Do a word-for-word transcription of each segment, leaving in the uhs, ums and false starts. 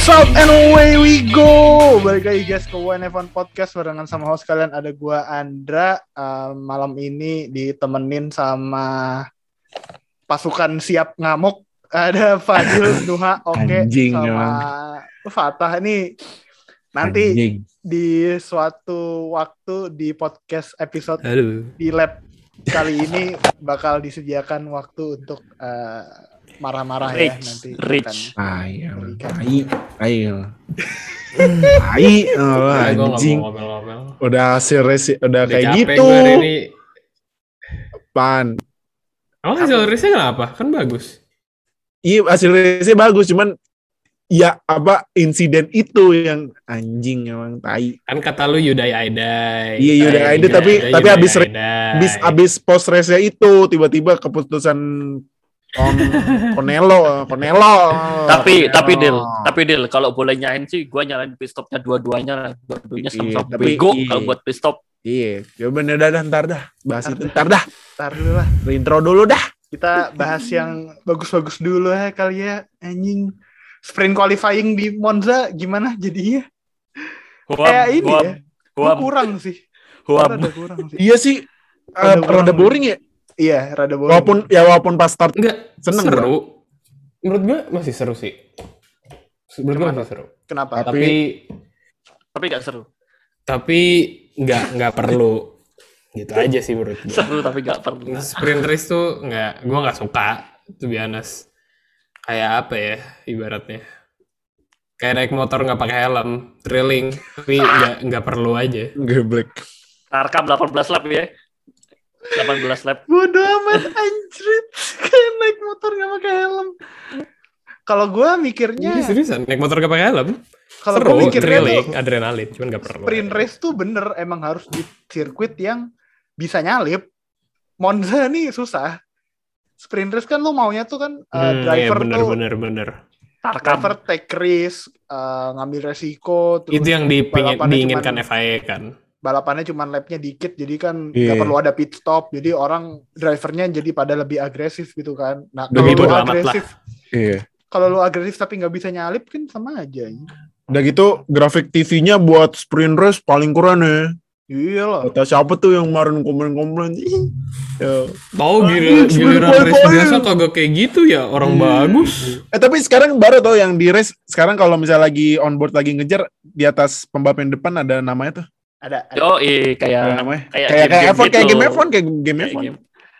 up and away we go. Balik lagi guys ke W N F one Podcast barengan sama host kalian ada gua Andra. Uh, malam ini ditemenin sama pasukan siap ngamuk. Ada Fadil, Nuha, Oke Anjing, sama ya. Fatah nih. Nanti Anjing. di suatu waktu di podcast episode Aduh. di lab kali ini bakal disediakan waktu untuk uh, marah-marah ya Rich, nanti. Rich. Ayo, ayo, ayo. Ayo, anjing. Udah hasil resi, udah, udah kayak gitu. Pan. Oh, hasil resnya kenapa? Kan bagus. Iya, hasil resnya bagus, cuman ya apa insiden itu yang anjing emang tai. Kan kata lu Yudai Aidai. Iya Yudai Aidai tapi Yudai, tapi habis habis habis post resnya itu tiba-tiba keputusan On Konelo, Konelo. Tapi Konelo. tapi Dil, tapi Dil kalau boleh nyain sih gua nyalain pit stopnya dua-duanya, dua-duanya sama-sama tapi bego iya. kalau buat pit stop. Iya, coba dah, dah ntar dah, bahas itu ntar dah. Ntar dulu lah. Intro dulu dah. Kita bahas yang bagus-bagus dulu ya kali ya, anjing. Sprint qualifying di Monza gimana jadinya? Kayak ini huam, ya. huam. Kurang sih. Huam. Rada kurang sih. Iya sih, uh, rada boring ya. Iya, rada boring. Walaupun ya walaupun pas start enggak seneng seru. Bro. Menurut gue masih seru sih. Menurut gue masih seru. Kenapa? Tapi Tapi enggak seru. tapi enggak enggak perlu. Gitu aja sih menurut gue. Seru tapi enggak perlu. Sprint race tuh enggak, gue enggak suka, to be honest. Kayak apa ya ibaratnya? Kayak naik motor enggak pakai helm, drilling, tapi enggak enggak perlu aja. Geblek. Tarkam delapan belas lap ya. delapan belas lap. Bodoh amat anjrit. Kayak naik motor gak pakai helm. Kalau gue mikirnya Ini seriusan, naik motor enggak pakai helm? kalau Seru, gue mikirnya drilling, tuh adrenalin, cuman enggak perlu. sprint race tuh bener emang harus di sirkuit yang bisa nyalip. Monza nih susah. Sprint race kan lu maunya tuh kan uh, Hmm, driver iya, bener, tuh bener, bener. Tarkam. driver take risk, uh, ngambil resiko. Terus Itu yang dipingin, balapannya diinginkan cuman- F I A kan. balapannya cuma lapnya dikit, jadi kan nggak Iya. perlu ada pit stop. Jadi orang drivernya jadi pada lebih agresif gitu kan. Nah Lebih kalau lu bodo amat agresif, Iya. kalau lu agresif tapi nggak bisa nyalip kan sama aja. Udah gitu grafik T V-nya buat sprint race paling keren ya. Iya lah. Kata siapa tuh yang kemarin komen-komen? Ya. Tahu Ah, gila, sprint giliran race qualifying. biasa kagak kayak gitu ya, orang Hmm. bagus. Eh tapi sekarang baru tau yang di race sekarang kalau misalnya lagi on board lagi ngejar di atas pembalap yang depan ada namanya tuh. Ada. ada. Yo, eh Ada kayak namanya. kayak Kayak kayak game-game F one, kayak gitu. game F one, kayak game Kayak F one. game.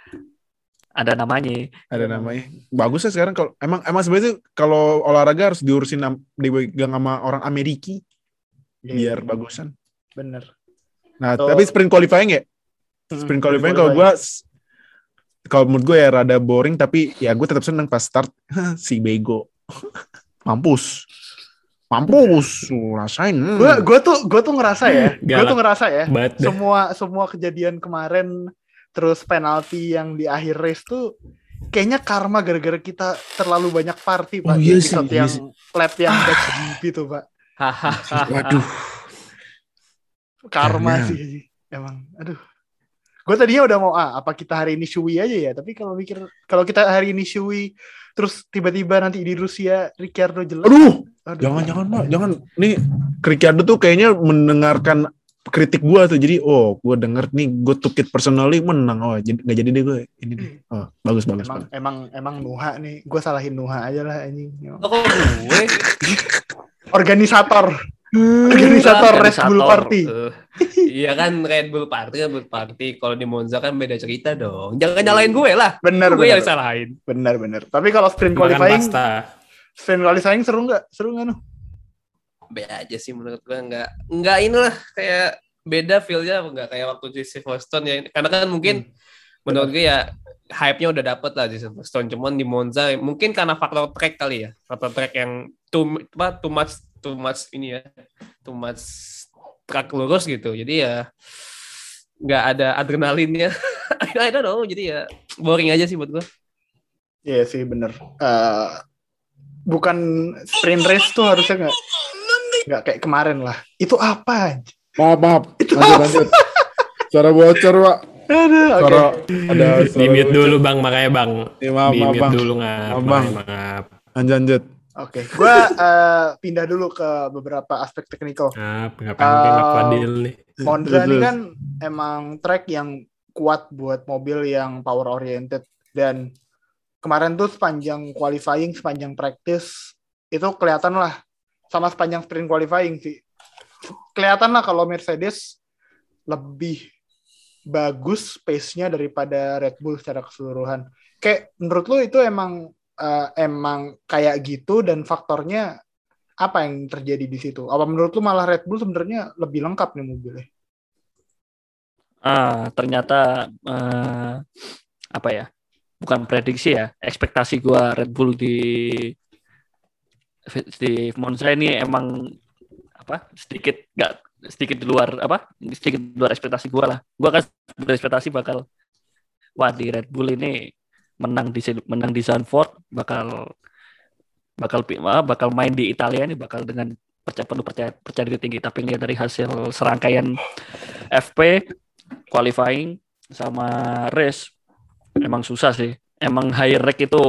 Ada namanya. Ada namanya. Bagus ya sekarang kalau emang emang sebenarnya kalau olahraga harus diurusin am- dipegang sama orang Amerika Iya, biar bagusan. bener. Nah, So- tapi sprint qualifying ya? Sprint qualifying kalau gue kalau menurut gue ya rada boring tapi ya gue tetap seneng pas start si bego. Mampus. Mampus, Lu rasain. Hmm. Gue gue tuh gue tuh ngerasa ya, gue Galak tuh ngerasa ya. banget dah. Semua semua kejadian kemarin terus penalti yang di akhir race tuh kayaknya karma gara-gara kita terlalu banyak party Pak. Oh, Di iya sih, episode iya yang sih. lap yang back G P tuh Pak. Waduh. Karma Karena- sih emang. Aduh. Gue tadinya udah mau ah apa kita hari ini Shui aja ya, tapi kalau mikir kalau kita hari ini Shui terus tiba-tiba nanti di Rusia Ricciardo jelek. Aduh, Aduh. jangan jangan Pak, jangan. Nih Ricciardo tuh kayaknya mendengarkan kritik gue tuh. Jadi, oh, gue denger nih, gue took it personally menang. Oh, jadi nggak jadi deh gue. Ini deh. Oh, bagus bagus. Emang bagus. emang emang Nuha nih, gue salahin Nuha aja lah anjing. Oh, kok gue Organisator, organisator Red Bull Party. Uh, iya kan Red Bull Party kan Bull Party. Kalau di Monza kan beda cerita dong. Jangan nyalain gue lah. Bener Gue bener yang salahin. bener bener. Tapi kalau sprint Makan qualifying, pasta. sprint qualifying seru nggak? Seru nggak Nuh? Be aja sih menurut gue nggak nggak inilah kayak beda feel-nya nggak kayak waktu di Silverstone ya. Karena kan mungkin menurut gue ya hype-nya udah dapet lah di Silverstone. Cuman di Monza mungkin karena faktor track kali ya. Faktor track yang too, apa, too much too much ini ya. Too much track lurus gitu. Jadi ya nggak ada adrenalinnya. I don't know. Jadi ya boring aja sih buat gue. Iya sih bener. Eh, bukan sprint race tuh harusnya nggak nggak kayak kemarin lah. Itu apa? Maaf maaf. Itu Lanjut apa? lanjut. Suara bocor Pak. Aduh, oke. Suara ada suara Di mute bocor. dulu bang, makanya bang. Ya, maaf Di maaf mute Bang. dulu ngap, Maaf, Bang. makanya maaf. Lanjut lanjut. Oke, gue uh, pindah dulu ke beberapa aspek teknikal. Nah, ngapain mungkin Uh, Fadil nih. Monza Terus, ini terus. kan emang track yang kuat buat mobil yang power oriented, dan kemarin tuh sepanjang qualifying, sepanjang practice itu kelihatan lah, sama sepanjang sprint qualifying sih, kelihatan lah kalau Mercedes lebih bagus pace-nya daripada Red Bull secara keseluruhan. Kayak menurut lu itu emang uh, emang kayak gitu, dan faktornya apa yang terjadi di situ? Apa menurut lu malah Red Bull sebenarnya lebih lengkap nih mobilnya? Ah, ternyata eh, apa ya? Bukan prediksi ya, ekspektasi gua Red Bull di di Monza ini emang apa? Sedikit nggak sedikit di luar apa? Sedikit di luar ekspektasi gua lah. Gua kan berekspektasi bakal wah di Red Bull ini menang di menang di Zandvoort, bakal bakal bakal main di Italia ini bakal dengan percaya penuh percaya percaya diri tinggi, tapi lihat dari hasil serangkaian F P qualifying sama race emang susah sih. Emang high rake itu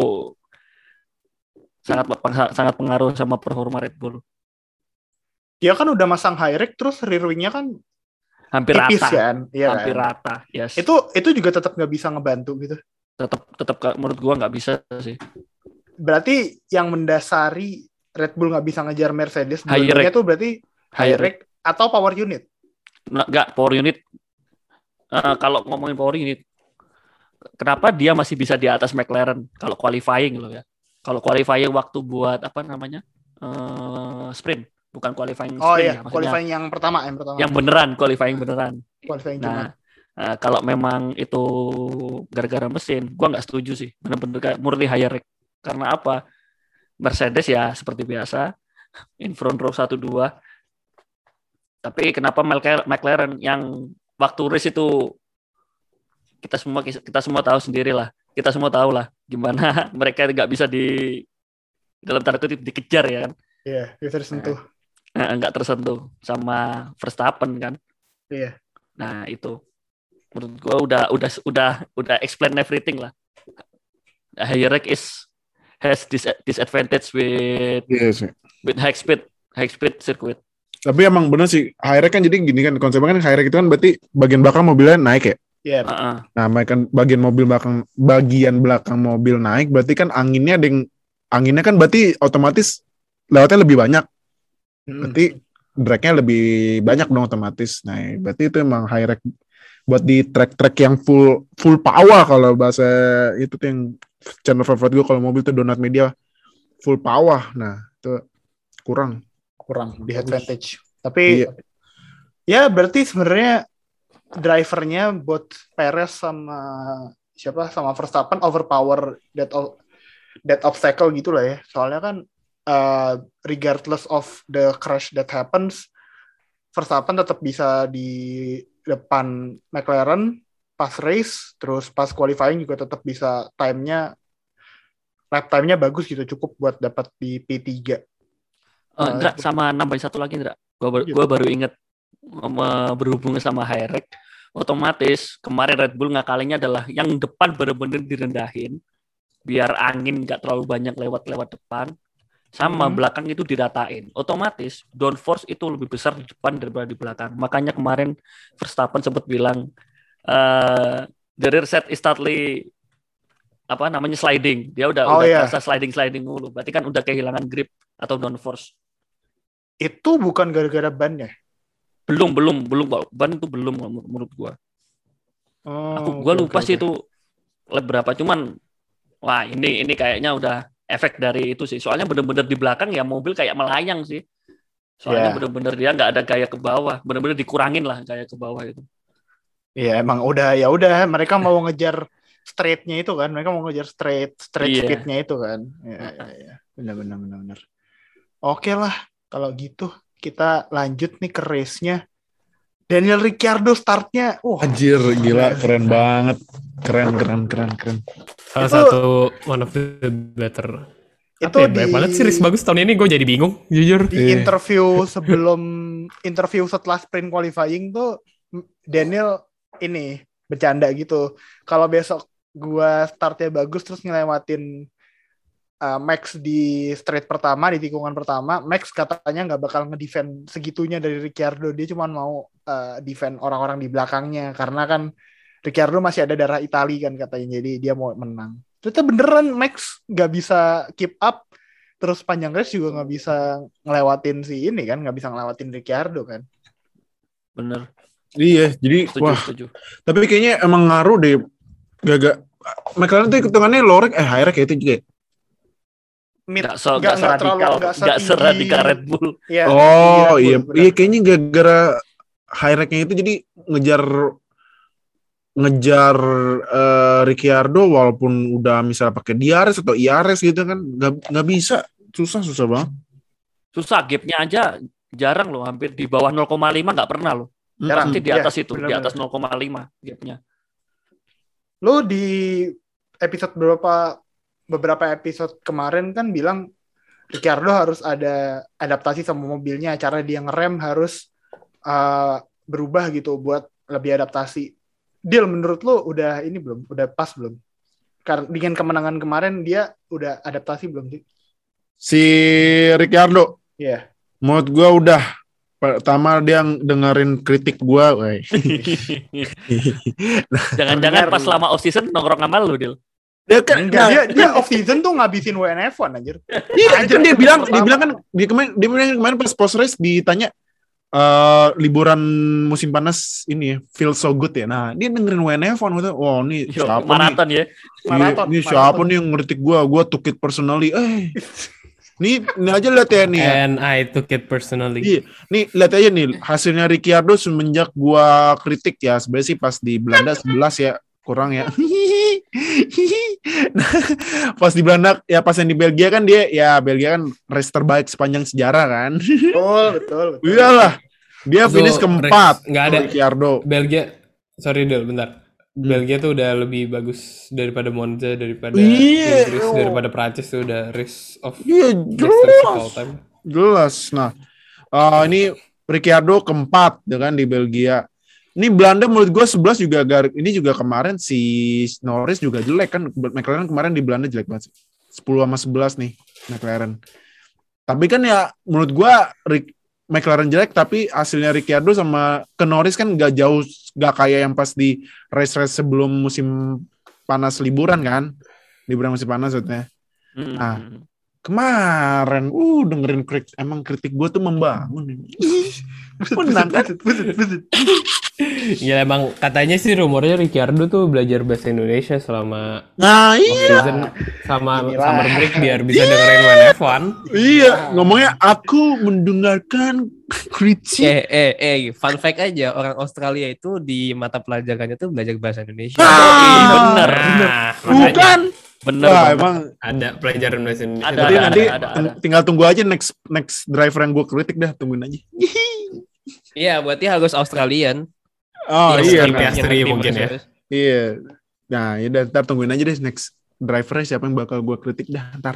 sangat sangat pengaruh sama performa Red Bull. Dia kan udah masang high rake, terus rear wing-nya kan hampir tipis rata, kan? Iya hampir kan? rata. Yes. Itu itu juga tetap nggak bisa ngebantu gitu. Tetap tetap menurut gua nggak bisa sih. Berarti yang mendasari Red Bull nggak bisa ngejar Mercedes High dua-duanya rake. tuh berarti high High rake atau power unit? Nggak, power unit. Uh, kalau ngomongin power unit, kenapa dia masih bisa di atas McLaren kalau qualifying loh ya? Kalau qualifying waktu buat apa namanya uh, sprint, bukan qualifying Oh sprint iya, ya, maksudnya qualifying yang pertama, yang pertama. yang beneran qualifying beneran. Qualifying Nah, uh, kalau memang itu gara-gara mesin, gua nggak setuju sih. Bener-bener murni high rake. Karena apa? Mercedes ya seperti biasa, in front row satu dua. Tapi kenapa McLaren yang waktu race itu kita semua kita semua tahu sendiri lah. Kita semua tahu lah gimana mereka nggak bisa di dalam tanda kutip dikejar ya kan. Iya, bisa tersentuh. Nah, nggak tersentuh sama Verstappen kan. Iya. Nah, itu menurut gua udah udah udah udah explain everything lah. High rake is has this disadvantage with Yes. with high speed high speed circuit. Tapi emang bener sih, high rake kan jadi gini kan, konsepnya kan high rake itu kan berarti bagian belakang mobilnya naik ya. Iya. Yeah. Uh-uh. Nah, kan bagian mobil belakang bagian belakang mobil naik, berarti kan anginnya ada yang anginnya kan berarti otomatis lewatnya lebih banyak. Berarti drag-nya lebih banyak dong otomatis. Nah, berarti itu emang high rake buat di track-track yang full full power, kalau bahasa itu tuh yang channel favorit gue kalau mobil tuh Donut Media, full power. Nah, itu kurang kurang di advantage. Tapi iya. Ya berarti sebenarnya drivernya buat Perez sama siapa sama Verstappen overpower that that obstacle gitulah ya. Soalnya kan uh, regardless of the crash that happens, Verstappen tetap bisa di depan McLaren pas race, terus pas qualifying juga tetap bisa time-nya lap time-nya bagus gitu, cukup buat dapat di P tiga. Uh, Indra, sama nambahin satu lagi Indra, gue baru, gua baru inget berhubungan sama high rake, otomatis kemarin Red Bull ngakalinnya adalah yang depan bener-bener direndahin biar angin nggak terlalu banyak lewat-lewat depan, sama hmm. belakang itu diratain, otomatis downforce itu lebih besar di depan daripada di belakang. Makanya kemarin Verstappen sempat bilang uh, the rear set is totally apa namanya sliding, dia udah oh, udah yeah. terasa sliding sliding dulu, berarti kan udah kehilangan grip atau downforce. Itu bukan gara-gara ban-nya? Belum, belum, belum. Ban itu belum menurut gua. Oh, Aku gua okay, lupa okay, sih okay. itu lap berapa. Cuman, wah ini ini kayaknya udah efek dari itu sih. Soalnya bener-bener di belakang ya mobil kayak melayang sih. Soalnya yeah. bener-bener dia nggak ada gaya ke bawah. Bener-bener dikurangin lah gaya ke bawah itu. Iya, yeah, emang udah ya udah. Mereka mau ngejar straight-nya itu kan. Mereka mau ngejar straight straight yeah. speed-nya itu kan. Iya, yeah, yeah, yeah. Benar-benar benar-benar. Oke lah, kalau gitu kita lanjut nih ke race-nya. Daniel Ricciardo startnya. Oh, anjir, gila, keren banget. Keren, keren, keren, keren. Salah itu, satu one of the better. Itu ya, di, banyak banget sih race bagus tahun ini, gue jadi bingung, jujur. Di interview sebelum interview setelah sprint qualifying tuh Daniel ini bercanda gitu. Kalau besok gue startnya bagus terus ngelewatin uh, Max di straight pertama, di tikungan pertama, Max katanya nggak bakal ngedefend segitunya dari Ricciardo. Dia cuma mau uh, defend orang-orang di belakangnya karena kan Ricciardo masih ada darah Itali kan katanya, jadi dia mau menang. Ternyata beneran Max nggak bisa keep up, terus panjang race juga nggak bisa ngelewatin si ini kan, nggak bisa ngelewatin Ricciardo kan. Bener. Iya, jadi Setuju, wah. setuju. Tapi kayaknya emang ngaruh deh. Gak-gak. McLaren tuh hitungannya low rek, eh high rek kayak itu juga. Mid, Gak, so, nggak- gak nggak terlalu- seradikal, nggak gak setinggi- seradikal Red Bull. Iya, Oh tinggi Red Bull, iya, bener. iya kayaknya gara-gara high reknya itu jadi ngejar ngejar eh, Ricciardo walaupun udah misalnya pakai D R S atau I R S gitu kan nggak nggak bisa, susah susah banget. Susah, gapnya aja jarang loh, hampir di bawah nol koma lima nggak pernah loh. Jarang. Pasti di Iya, atas itu, di benar-benar. atas nol koma lima gapnya. Lo di episode beberapa beberapa episode kemarin kan bilang Ricciardo harus ada adaptasi sama mobilnya, cara dia ngerem harus uh, berubah gitu buat lebih adaptasi. Deal, menurut lo udah ini belum? Udah pas belum? Karena dengan kemenangan kemarin dia udah adaptasi belum sih? Si Ricciardo, Iya. menurut gua udah. Pertama dia dengerin kritik gua, wey. Jangan-jangan Benar. pas selama off season nongkrong sama lu, Dil. Dia kan Enggak, dia dia off season tuh ngabisin W N F one anjir. Iya, kan dia bilang, dia Pertama. bilang kan dia kemarin dia bilang kemarin pas post race ditanya eh liburan musim panas ini ya, feel so good ya. Nah, dia dengerin W N F one gitu. Wow, ini Yo, siapa maraton ya. nih? Maraton, Ini, ini maraton. siapa nih yang ngeritik gua? Gua took it personally. Eh. Nih, ini aja lihat ya nih ya. And I took it personally. Iya, nih lihat aja nih hasilnya Ricciardo semenjak gua kritik ya. Sebenarnya sih pas di Belanda sebelas ya, kurang ya. Nah, pas di Belanda ya, pas yang di Belgia kan dia ya Belgia kan race terbaik sepanjang sejarah kan. Betul, betul, betul. Iyalah. Dia Itu finish keempat. race nggak ada. Ricciardo. Belgia, sorry Del, bentar. Hmm. Belgia tuh udah lebih bagus daripada Monza, daripada Iya. Inggris, daripada Prancis tuh udah race of Iya, best race of all jelas. time. Jelas. Nah, uh, ini Ricciardo keempat dengan di Belgia. Ini Belanda menurut gue sebelas juga gar- ini juga kemarin si Norris juga jelek kan. McLaren kemarin di Belanda jelek banget sih. sepuluh sama sebelas nih McLaren. Tapi kan ya menurut gue Rick, McLaren jelek tapi hasilnya Ricciardo sama ke Norris kan gak jauh, gak kayak yang pas di race-race sebelum musim panas liburan kan. Liburan musim panas maksudnya. Hmm. Nah, kemarin, uh dengerin kritik, emang kritik gue tuh membangun. Menang kan? Ya emang katanya sih rumornya Ricciardo tuh belajar bahasa Indonesia selama Nah off iya, season sama Inilah. summer break biar bisa dengerin W N F one. iya ngomongnya aku mendengarkan kritik. Eh, eh, eh, fun fact aja, orang Australia itu di mata pelajarannya tuh belajar bahasa Indonesia. Ih, bener. Nah, makanya Bukan? Bener Wah banget. emang. ada pelajaran bahasa Indonesia. Ada, Nanti ada, nanti ada, ada. ting- tinggal tunggu aja next next driver yang gue kritik dah, tungguin aja. Iya, berarti harus Australian. Oh Iya, iya, skip nah, ya. Piastri mungkin ya. iya. Nah, ya udah, ntar tungguin aja deh next drivernya siapa yang bakal gue kritik dah ntar.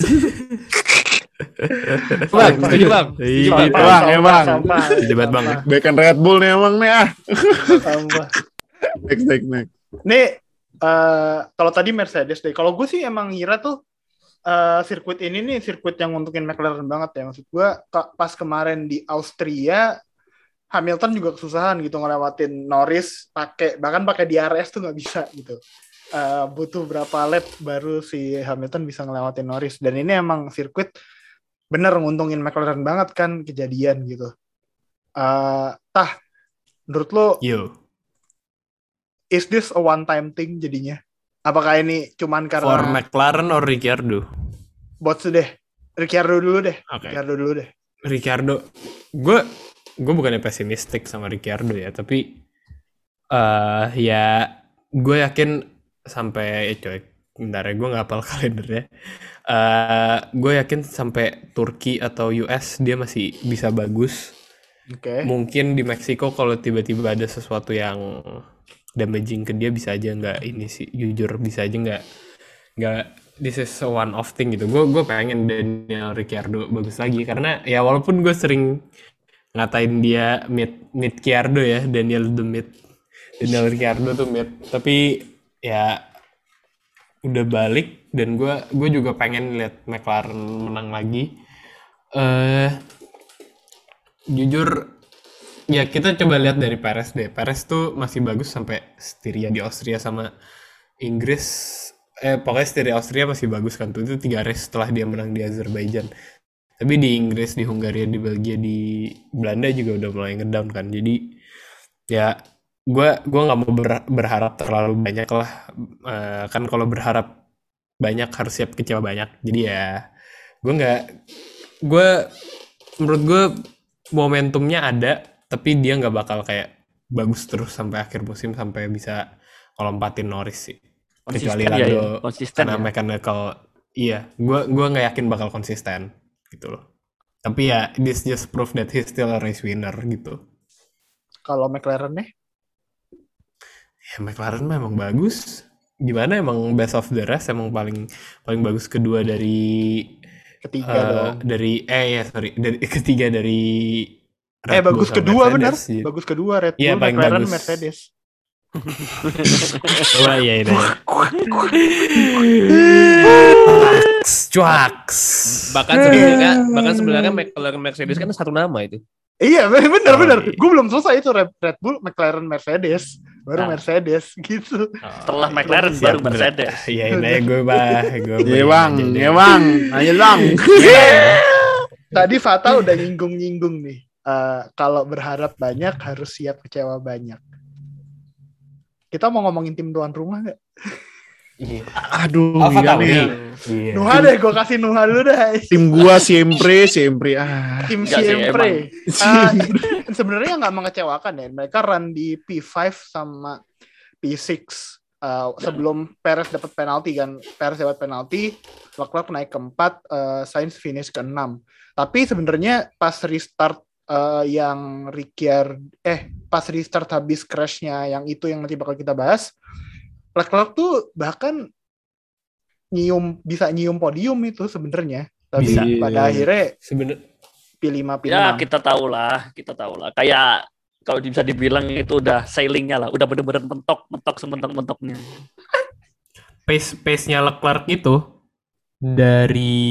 Bang, setuju bang. Iya, Bang, bang, emang. Debat bang. Bekan Red Bull nih emang nih ah. Sampah. Next, next, next. Nih, eh, kalau tadi Mercedes deh. Kalau gue sih emang ngira tuh eh, sirkuit ini nih sirkuit yang nguntukin McLaren banget ya. Maksud gue ke- pas kemarin di Austria, Hamilton juga kesusahan gitu ngelewatin Norris pakai bahkan pakai D R S tuh nggak bisa gitu. Eh, butuh berapa lap baru si Hamilton bisa ngelewatin Norris. Dan ini emang sirkuit bener nguntungin McLaren banget kan kejadian gitu. Eh, tah, menurut lo Yo. is this a one time thing jadinya? Apakah ini cuman For karena McLaren or Ricciardo? bots deh? Ricciardo dulu deh. Oke. Ricciardo dulu deh. Ricciardo, gue gue bukannya pesimistik sama Ricciardo ya, tapi eh ya gue yakin sampai eh, coy, bentar ya gue nggak hafal kalendernya. Eh gue yakin sampai Turki atau U S dia masih bisa bagus. Oke. Mungkin di Meksiko kalau tiba-tiba ada sesuatu yang damaging ke dia bisa aja nggak ini sih, jujur bisa aja nggak nggak this is a one off thing gitu. Gue gue pengen Daniel Ricciardo bagus lagi karena ya walaupun gue sering ngatain dia mid mid Ricciardo ya, Daniel the mid, Daniel Ricciardo tuh mid, tapi ya udah balik dan gue gue juga pengen lihat McLaren menang lagi. Eh jujur ya kita coba lihat dari Perez deh. Perez tuh masih bagus sampai Styria di Austria sama Inggris. Eh pokoknya Styria Austria masih bagus kan tuh, itu tiga race setelah dia menang di Azerbaijan. Tapi di Inggris, di Hungaria, di Belgia, di Belanda juga udah mulai ngedown kan. Jadi ya gue gue nggak mau ber- berharap terlalu banyak lah. Eh, kan kalau berharap banyak harus siap kecewa banyak. Jadi ya gue nggak gue menurut gue momentumnya ada, tapi dia nggak bakal kayak bagus terus sampai akhir musim sampai bisa lompatin Norris sih. Kecuali Konsisten ya, Lando ya. Konsisten karena ya. mechanical. Iya, gue gue nggak yakin bakal konsisten gitu loh. Tapi ya this just proof that he's still a race winner gitu. Kalau McLaren nih? Ya McLaren memang bagus. Gimana emang best of the rest, emang paling paling bagus kedua dari Ketiga eh, dong. dari eh ya sorry dari ketiga dari Eh Red Bull bagus sama kedua benar. Mercedes, gitu. Bagus kedua Red Iya, Bull, paling McLaren, bagus. Mercedes. Wah iya itu. Cuaks. Bahkan sebenarnya bahkan sebenarnya McLaren Mercedes kan satu nama itu. Iya benar Oh, benar. iya. Gue belum selesai itu Red, Red Bull, McLaren, Mercedes, baru Nah. Mercedes gitu. Setelah McLaren Siap, baru bener. Mercedes. Iya ini aja gue bah. Gue Iya bang, bayangin aja iya deh. bang, ayo bang. Tadi Fata udah nyinggung-nyinggung nih. Eh, kalau berharap banyak harus siap kecewa banyak. Kita mau ngomongin tim tuan rumah nggak? Iya. Aduh, Alpha iya Tauri. nih. Iya. Nuha deh, gue kasih Nuha dulu deh. Tim gua siempre, siempre. Ah, Tim Nggak sih, siempre. Ah, sebenarnya nggak mengecewakan ya. Mereka run di P lima sama P enam. Uh, sebelum Perez dapat penalti kan, Perez dapat penalti, Leclerc naik ke empat, uh, Sainz finish ke enam. Tapi sebenarnya pas restart uh, yang Ricciardo, eh pas restart habis crashnya yang itu yang nanti bakal kita bahas, Leclerc tuh bahkan nyium bisa nyium podium itu sebenarnya. Tapi Bisa. pada akhirnya Sebenernya P lima P Ya enam. kita tahu lah, kita tahu lah. Kayak kalau bisa dibilang itu udah sailingnya lah, udah bener-bener mentok, mentok sementok-mentoknya. pace pace-nya Leclerc itu dari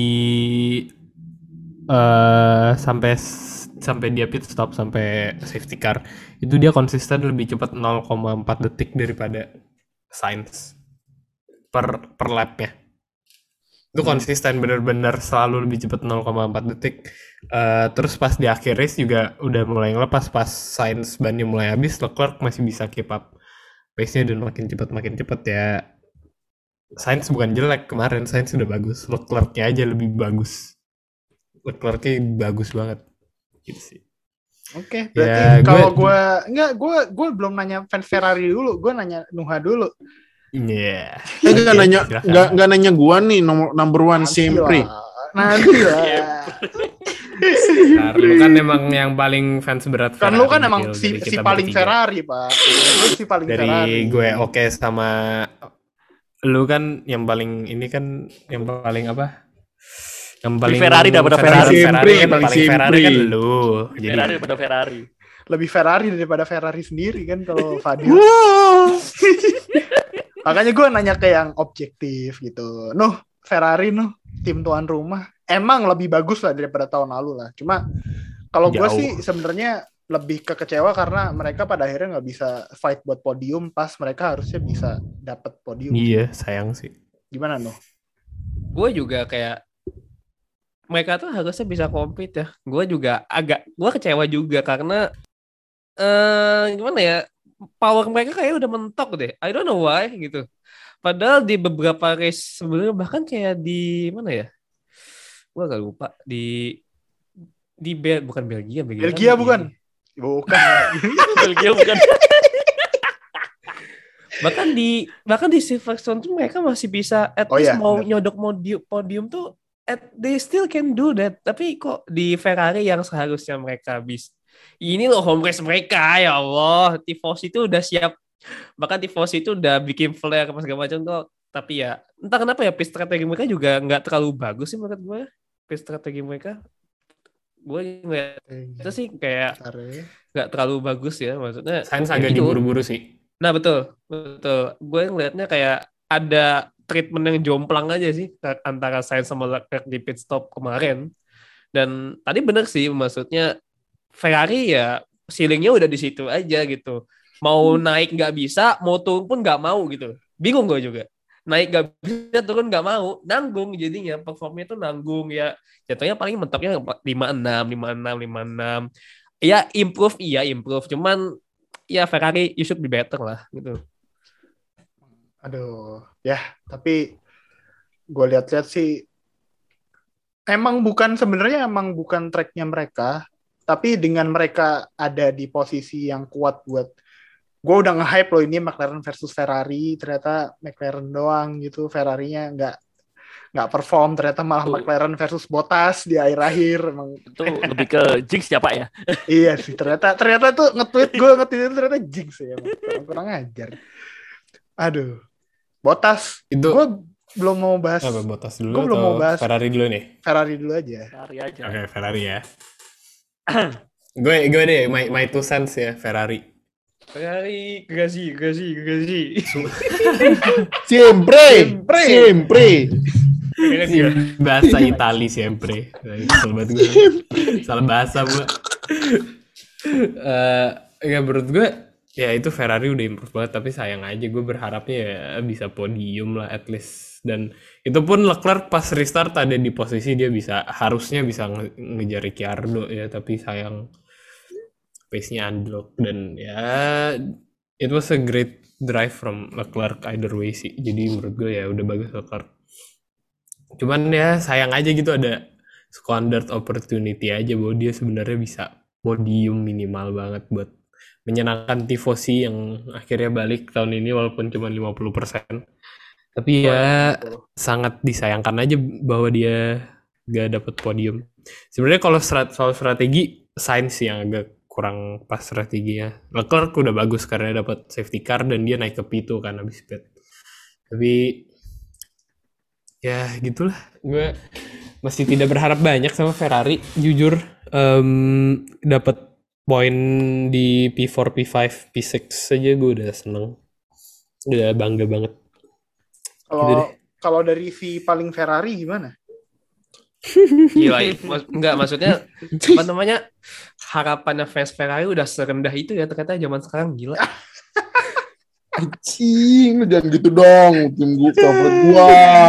eh sampai sampai dia pit stop sampai safety car itu dia konsisten lebih cepat nol koma empat detik daripada Sainz per per lap-nya. Itu konsisten bener-bener selalu lebih cepat nol koma empat detik. Eh, terus pas di akhir race juga udah mulai ngelepas pas Sainz bannya mulai habis, Leclerc masih bisa keep up pace-nya dan makin cepat makin cepat ya. Sainz bukan jelek kemarin, Sainz sudah bagus. Leclerc-nya aja lebih bagus. Leclerc-nya bagus banget. Gitu sih. Oke, Ya, berarti gue- kalau gue enggak gue gue belum nanya fans Ferrari dulu, gue nanya Nuha dulu. Iya. eh nggak Oke, nanya, silakan. nggak nggak nanya gua nih nomor number one Nanti siempre. lah. Nanti lah. Bentar, lu kan emang yang paling fans berat Kan Ferrari. lu kan emang Gil, si, dari si kita paling bertiga. Ferrari, Pak. Lu si paling Dari Ferrari. gue oke sama lu kan yang paling ini kan yang paling apa? Yang paling Ferrari daripada Ferrari, Ferrari. Ferrari kan Paling paling Ferrari simpri. kan lu. Jadi Ferrari daripada Ferrari. Lebih Ferrari daripada Ferrari sendiri kan kalau Fadil. Makanya gue nanya ke yang objektif gitu. Nuh, Ferrari Nuh, tim tuan rumah. Emang lebih bagus lah daripada tahun lalu lah. Cuma kalau gue Jauh. sih sebenarnya lebih kekecewa karena mereka pada akhirnya nggak bisa fight buat podium pas mereka harusnya bisa dapat podium. iya, sayang sih. Gimana Nuh? Gue juga kayak mereka tuh harusnya bisa compete ya. Gue juga agak gue kecewa juga karena eh gimana ya, power mereka kayak udah mentok deh. I don't know why gitu. Padahal di beberapa race sebelumnya bahkan kayak di mana ya? Gue agak lupa di di Bel bukan Belgia, Belgia, Belgia kan bukan? di- Bukan. Belgia bukan. bahkan di bahkan di Silverstone tuh mereka masih bisa at Oh least iya, mau benar. nyodok podium, podium tuh at, they still can do that. Tapi kok di Ferrari yang seharusnya mereka bisa, ini loh home race mereka, ya Allah, tifosi itu udah siap, bahkan tifosi itu udah bikin flare apa segala macam tuh. Tapi ya entah kenapa ya, pace strategi mereka juga nggak terlalu bagus sih menurut gue. Pace strategi mereka gue ngeliat itu sih kayak Bentar ya. nggak terlalu bagus ya, maksudnya Sainz ya agak gitu. diburu-buru sih. Nah betul, betul. Gue ngelihatnya kayak ada treatment yang jomplang aja sih antara Sainz sama Leclerc di pit stop kemarin. Dan tadi bener sih, maksudnya Ferrari ya ceilingnya udah di situ aja gitu. Mau naik nggak bisa, mau turun pun nggak mau gitu. Bingung gue juga. Naik nggak bisa, turun nggak mau, nanggung jadinya, performnya tuh nanggung ya. Jatuhnya paling mentoknya lima enam, lima enam, lima enam. Ya improve, iya improve. Cuman ya Ferrari you should be better lah gitu. Aduh, ya tapi gue lihat-lihat sih emang bukan sebenarnya emang bukan tracknya mereka, tapi dengan mereka ada di posisi yang kuat buat gue udah nge-hype loh ini McLaren versus Ferrari, ternyata McLaren doang gitu, Ferrarinya nggak nggak perform, ternyata malah Tuh. McLaren versus Bottas di akhir-akhir emang. Itu lebih ke jinx ya Pak ya. Iya sih, ternyata ternyata tuh nge-tweet gue nge-tweet itu ternyata jinx ya, kurang, kurang ajar. Aduh, Bottas, Itu gue belum mau bahas. apa, Bottas dulu Gue belum atau mau bahas Ferrari dulu nih? Ferrari dulu aja. Ferrari aja. Oke, Ferrari ya. gue gue deh my my two cents ya Ferrari. Ferrari, gazi, gazi, gazi. Siempre, Siempre. siempre. Bahasa Itali sempre. Kesel banget gue. Salah bahasa gue. Eh, ya menurut gue ya itu Ferrari udah improve banget, tapi sayang aja gue berharapnya ya bisa podium lah at least. Dan itu pun Leclerc pas restart ada di posisi dia bisa harusnya bisa nge- ngejar Ricciardo ya, tapi sayang pace-nya unlock. Dan ya it was a great drive from Leclerc either way sih. Jadi menurut gue ya udah bagus Leclerc. Cuman ya sayang aja gitu ada squandered opportunity aja bahwa dia sebenarnya bisa podium minimal banget buat menyenangkan tifosi yang akhirnya balik tahun ini walaupun cuma lima puluh persen. Tapi ya sangat disayangkan aja bahwa dia gak dapet podium. Sebenarnya kalau strat- soal strategi, Sainz yang agak kurang pas strateginya. Leclerc udah bagus karena dapat safety car dan dia naik ke P dua kan habis pit. Tapi ya gitulah, gue masih tidak berharap banyak sama Ferrari jujur. um, dapat poin di P empat, P lima, P enam saja gue udah seneng, udah bangga banget. Kalau Gitu deh. kalau dari si paling Ferrari gimana? Gila, mas- enggak maksudnya apa namanya, harapannya fans Ferrari udah serendah itu ya ternyata zaman sekarang, gila. Anjing, lu jangan gitu dong. Tim gue favorit gua.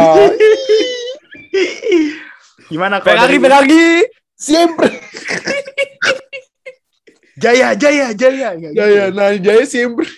Gimana kalau Ferrari, dari Ferrari. Siempre. Jaya, Jaya, Jaya, Nggak gitu. Jaya, nah Jaya siempre.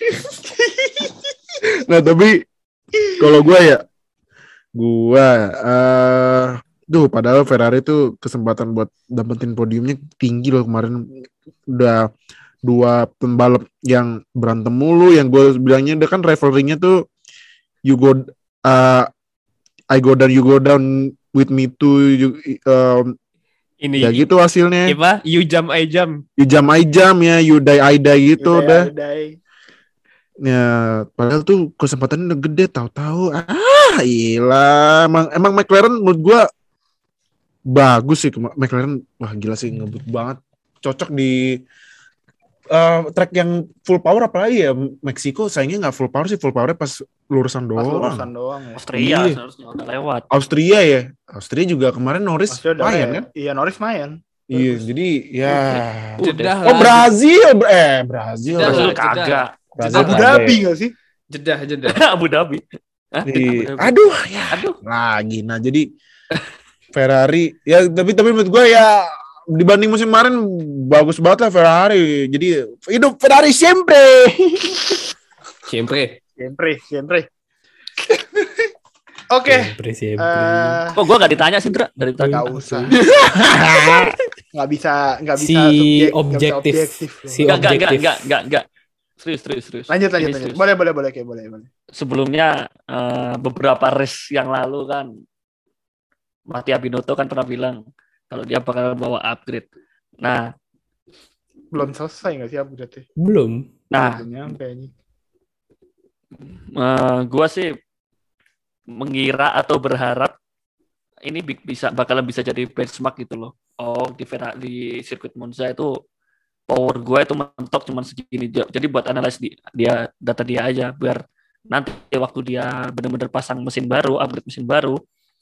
Nah tapi kalau gua ya, gua, eh, duh padahal Ferrari tuh kesempatan buat dapetin podiumnya tinggi loh kemarin. Udah dua pembalap yang berantem mulu, yang gue bilangnya udah kan rivalry-nya tuh you go, uh, I go down, you go down with me too, you, um, Ini ya gitu hasilnya. apa? You jump, I jump. You jam I jam ya, you die I die gitu Udah, udah. udah. Ya, padahal tuh kesempatannya udah gede, tahu-tahu ah, gila. Emang emang McLaren menurut gua bagus sih. McLaren wah gila sih, ngebut banget. Cocok di uh, track yang full power, apalagi ya Meksiko sayangnya nggak full power sih, full powernya pas lurusan Pas doang. lurusan doang ya. Austria Iya. seharusnya udah lewat. Austria ya, Austria juga kemarin Norris Maksudnya udah main ya. kan? Iya, Norris main. Iya, jadi ya. Jeddah Oh lah. Brazil, eh Brazil. Jeddah Brazil lah, jeddah. kagak. Brazil Abu kagak Dhabi ya. nggak sih? Jeddah, jeddah. Abu Dhabi. Hah? Iya. Abu Dhabi. Aduh, ya Aduh. lagi. Nah, jadi Ferrari ya tapi tapi menurut gue ya dibanding musim kemarin bagus banget lah Ferrari. Jadi hidup Ferrari siempre. Siempre. Siempre, siempre. Oke. Siempre, siempre. eh, Kok gua nggak ditanya sih, Dra? Dari tadi. Nggak usah. Nggak bisa, nggak bisa Si subjek- nggak bisa objektif. loh. Si Enggak, enggak, enggak, objektif. enggak, enggak, enggak. Serius, serius, serius. Lanjut, lanjut, Ini lanjut. serius. Boleh, boleh, boleh, kayak boleh, boleh. Sebelumnya eh, beberapa race yang lalu kan Mattia Binotto kan pernah bilang kalau dia bakal bawa upgrade. Nah, Belum selesai nggak sih upgrade-nya? Belum. nah, Belum nyampe ini. eh, gua sih mengira atau berharap ini bi- bisa bakalan bisa jadi benchmark gitu loh. Oh, di Ferrari di sirkuit Monza itu power gue itu mentok cuma segini. Jadi buat analis di, dia data dia aja biar nanti waktu dia benar-benar pasang mesin baru, upgrade mesin baru,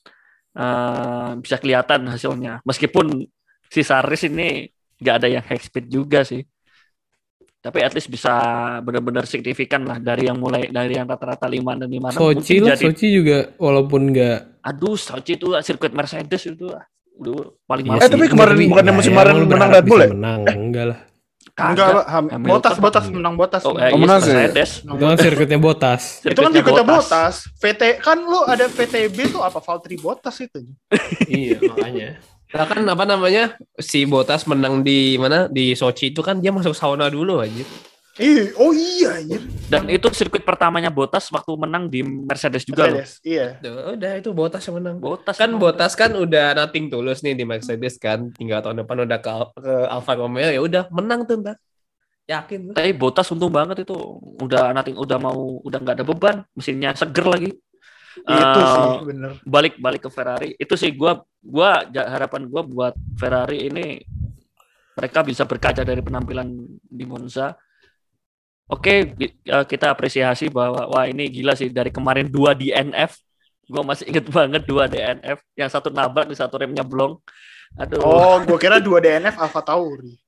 uh, bisa kelihatan hasilnya. Meskipun si Saris ini nggak ada yang high speed juga sih, tapi at least bisa benar-benar signifikan lah dari yang mulai dari yang rata-rata lima dan lima enam. Sochi lah, jadi... Sochi juga walaupun nggak. Aduh, Sochi itu sirkuit Mercedes itu lah. Udah paling iya, eh tapi kemarin bukannya musim kemarin menang Red Bull ya? Menang, eh? enggak lah. Enggak lah, botas botas menang botas. Oh, eh, menang yes, Mercedes. Itu kan sirkuitnya botas. Itu kan sirkuitnya botas. V T kan lu ada V T B tuh apa Valtteri Bottas itu. Iya, makanya. Nah kan apa namanya si Bottas menang di mana di Sochi itu kan dia masuk sauna dulu aja. Eh, oh iya anjir. Dan itu sirkuit pertamanya Bottas waktu menang di Mercedes juga Mercedes, loh. Iya. Duh, udah itu Bottas yang menang. Bottas kan Bottas kan udah nothing tulus nih di Mercedes kan. Tinggal tahun depan udah ke, ke Alfa Romeo ya udah menang tuh ntar. Yakin. Tapi Bottas untung banget itu. Udah nothing udah mau udah nggak ada beban, mesinnya seger lagi. Itu uh, sih bener. Balik balik ke Ferrari. Itu sih gua gua harapan gua buat Ferrari ini mereka bisa berkaca dari penampilan di Monza. Oke, kita apresiasi bahwa wah ini gila sih dari kemarin dua D N F. Gue masih inget banget dua D N F. Yang satu nabrak, di satu remnya blong. Aduh. Oh, gue kira dua D N F Alfa Tauri.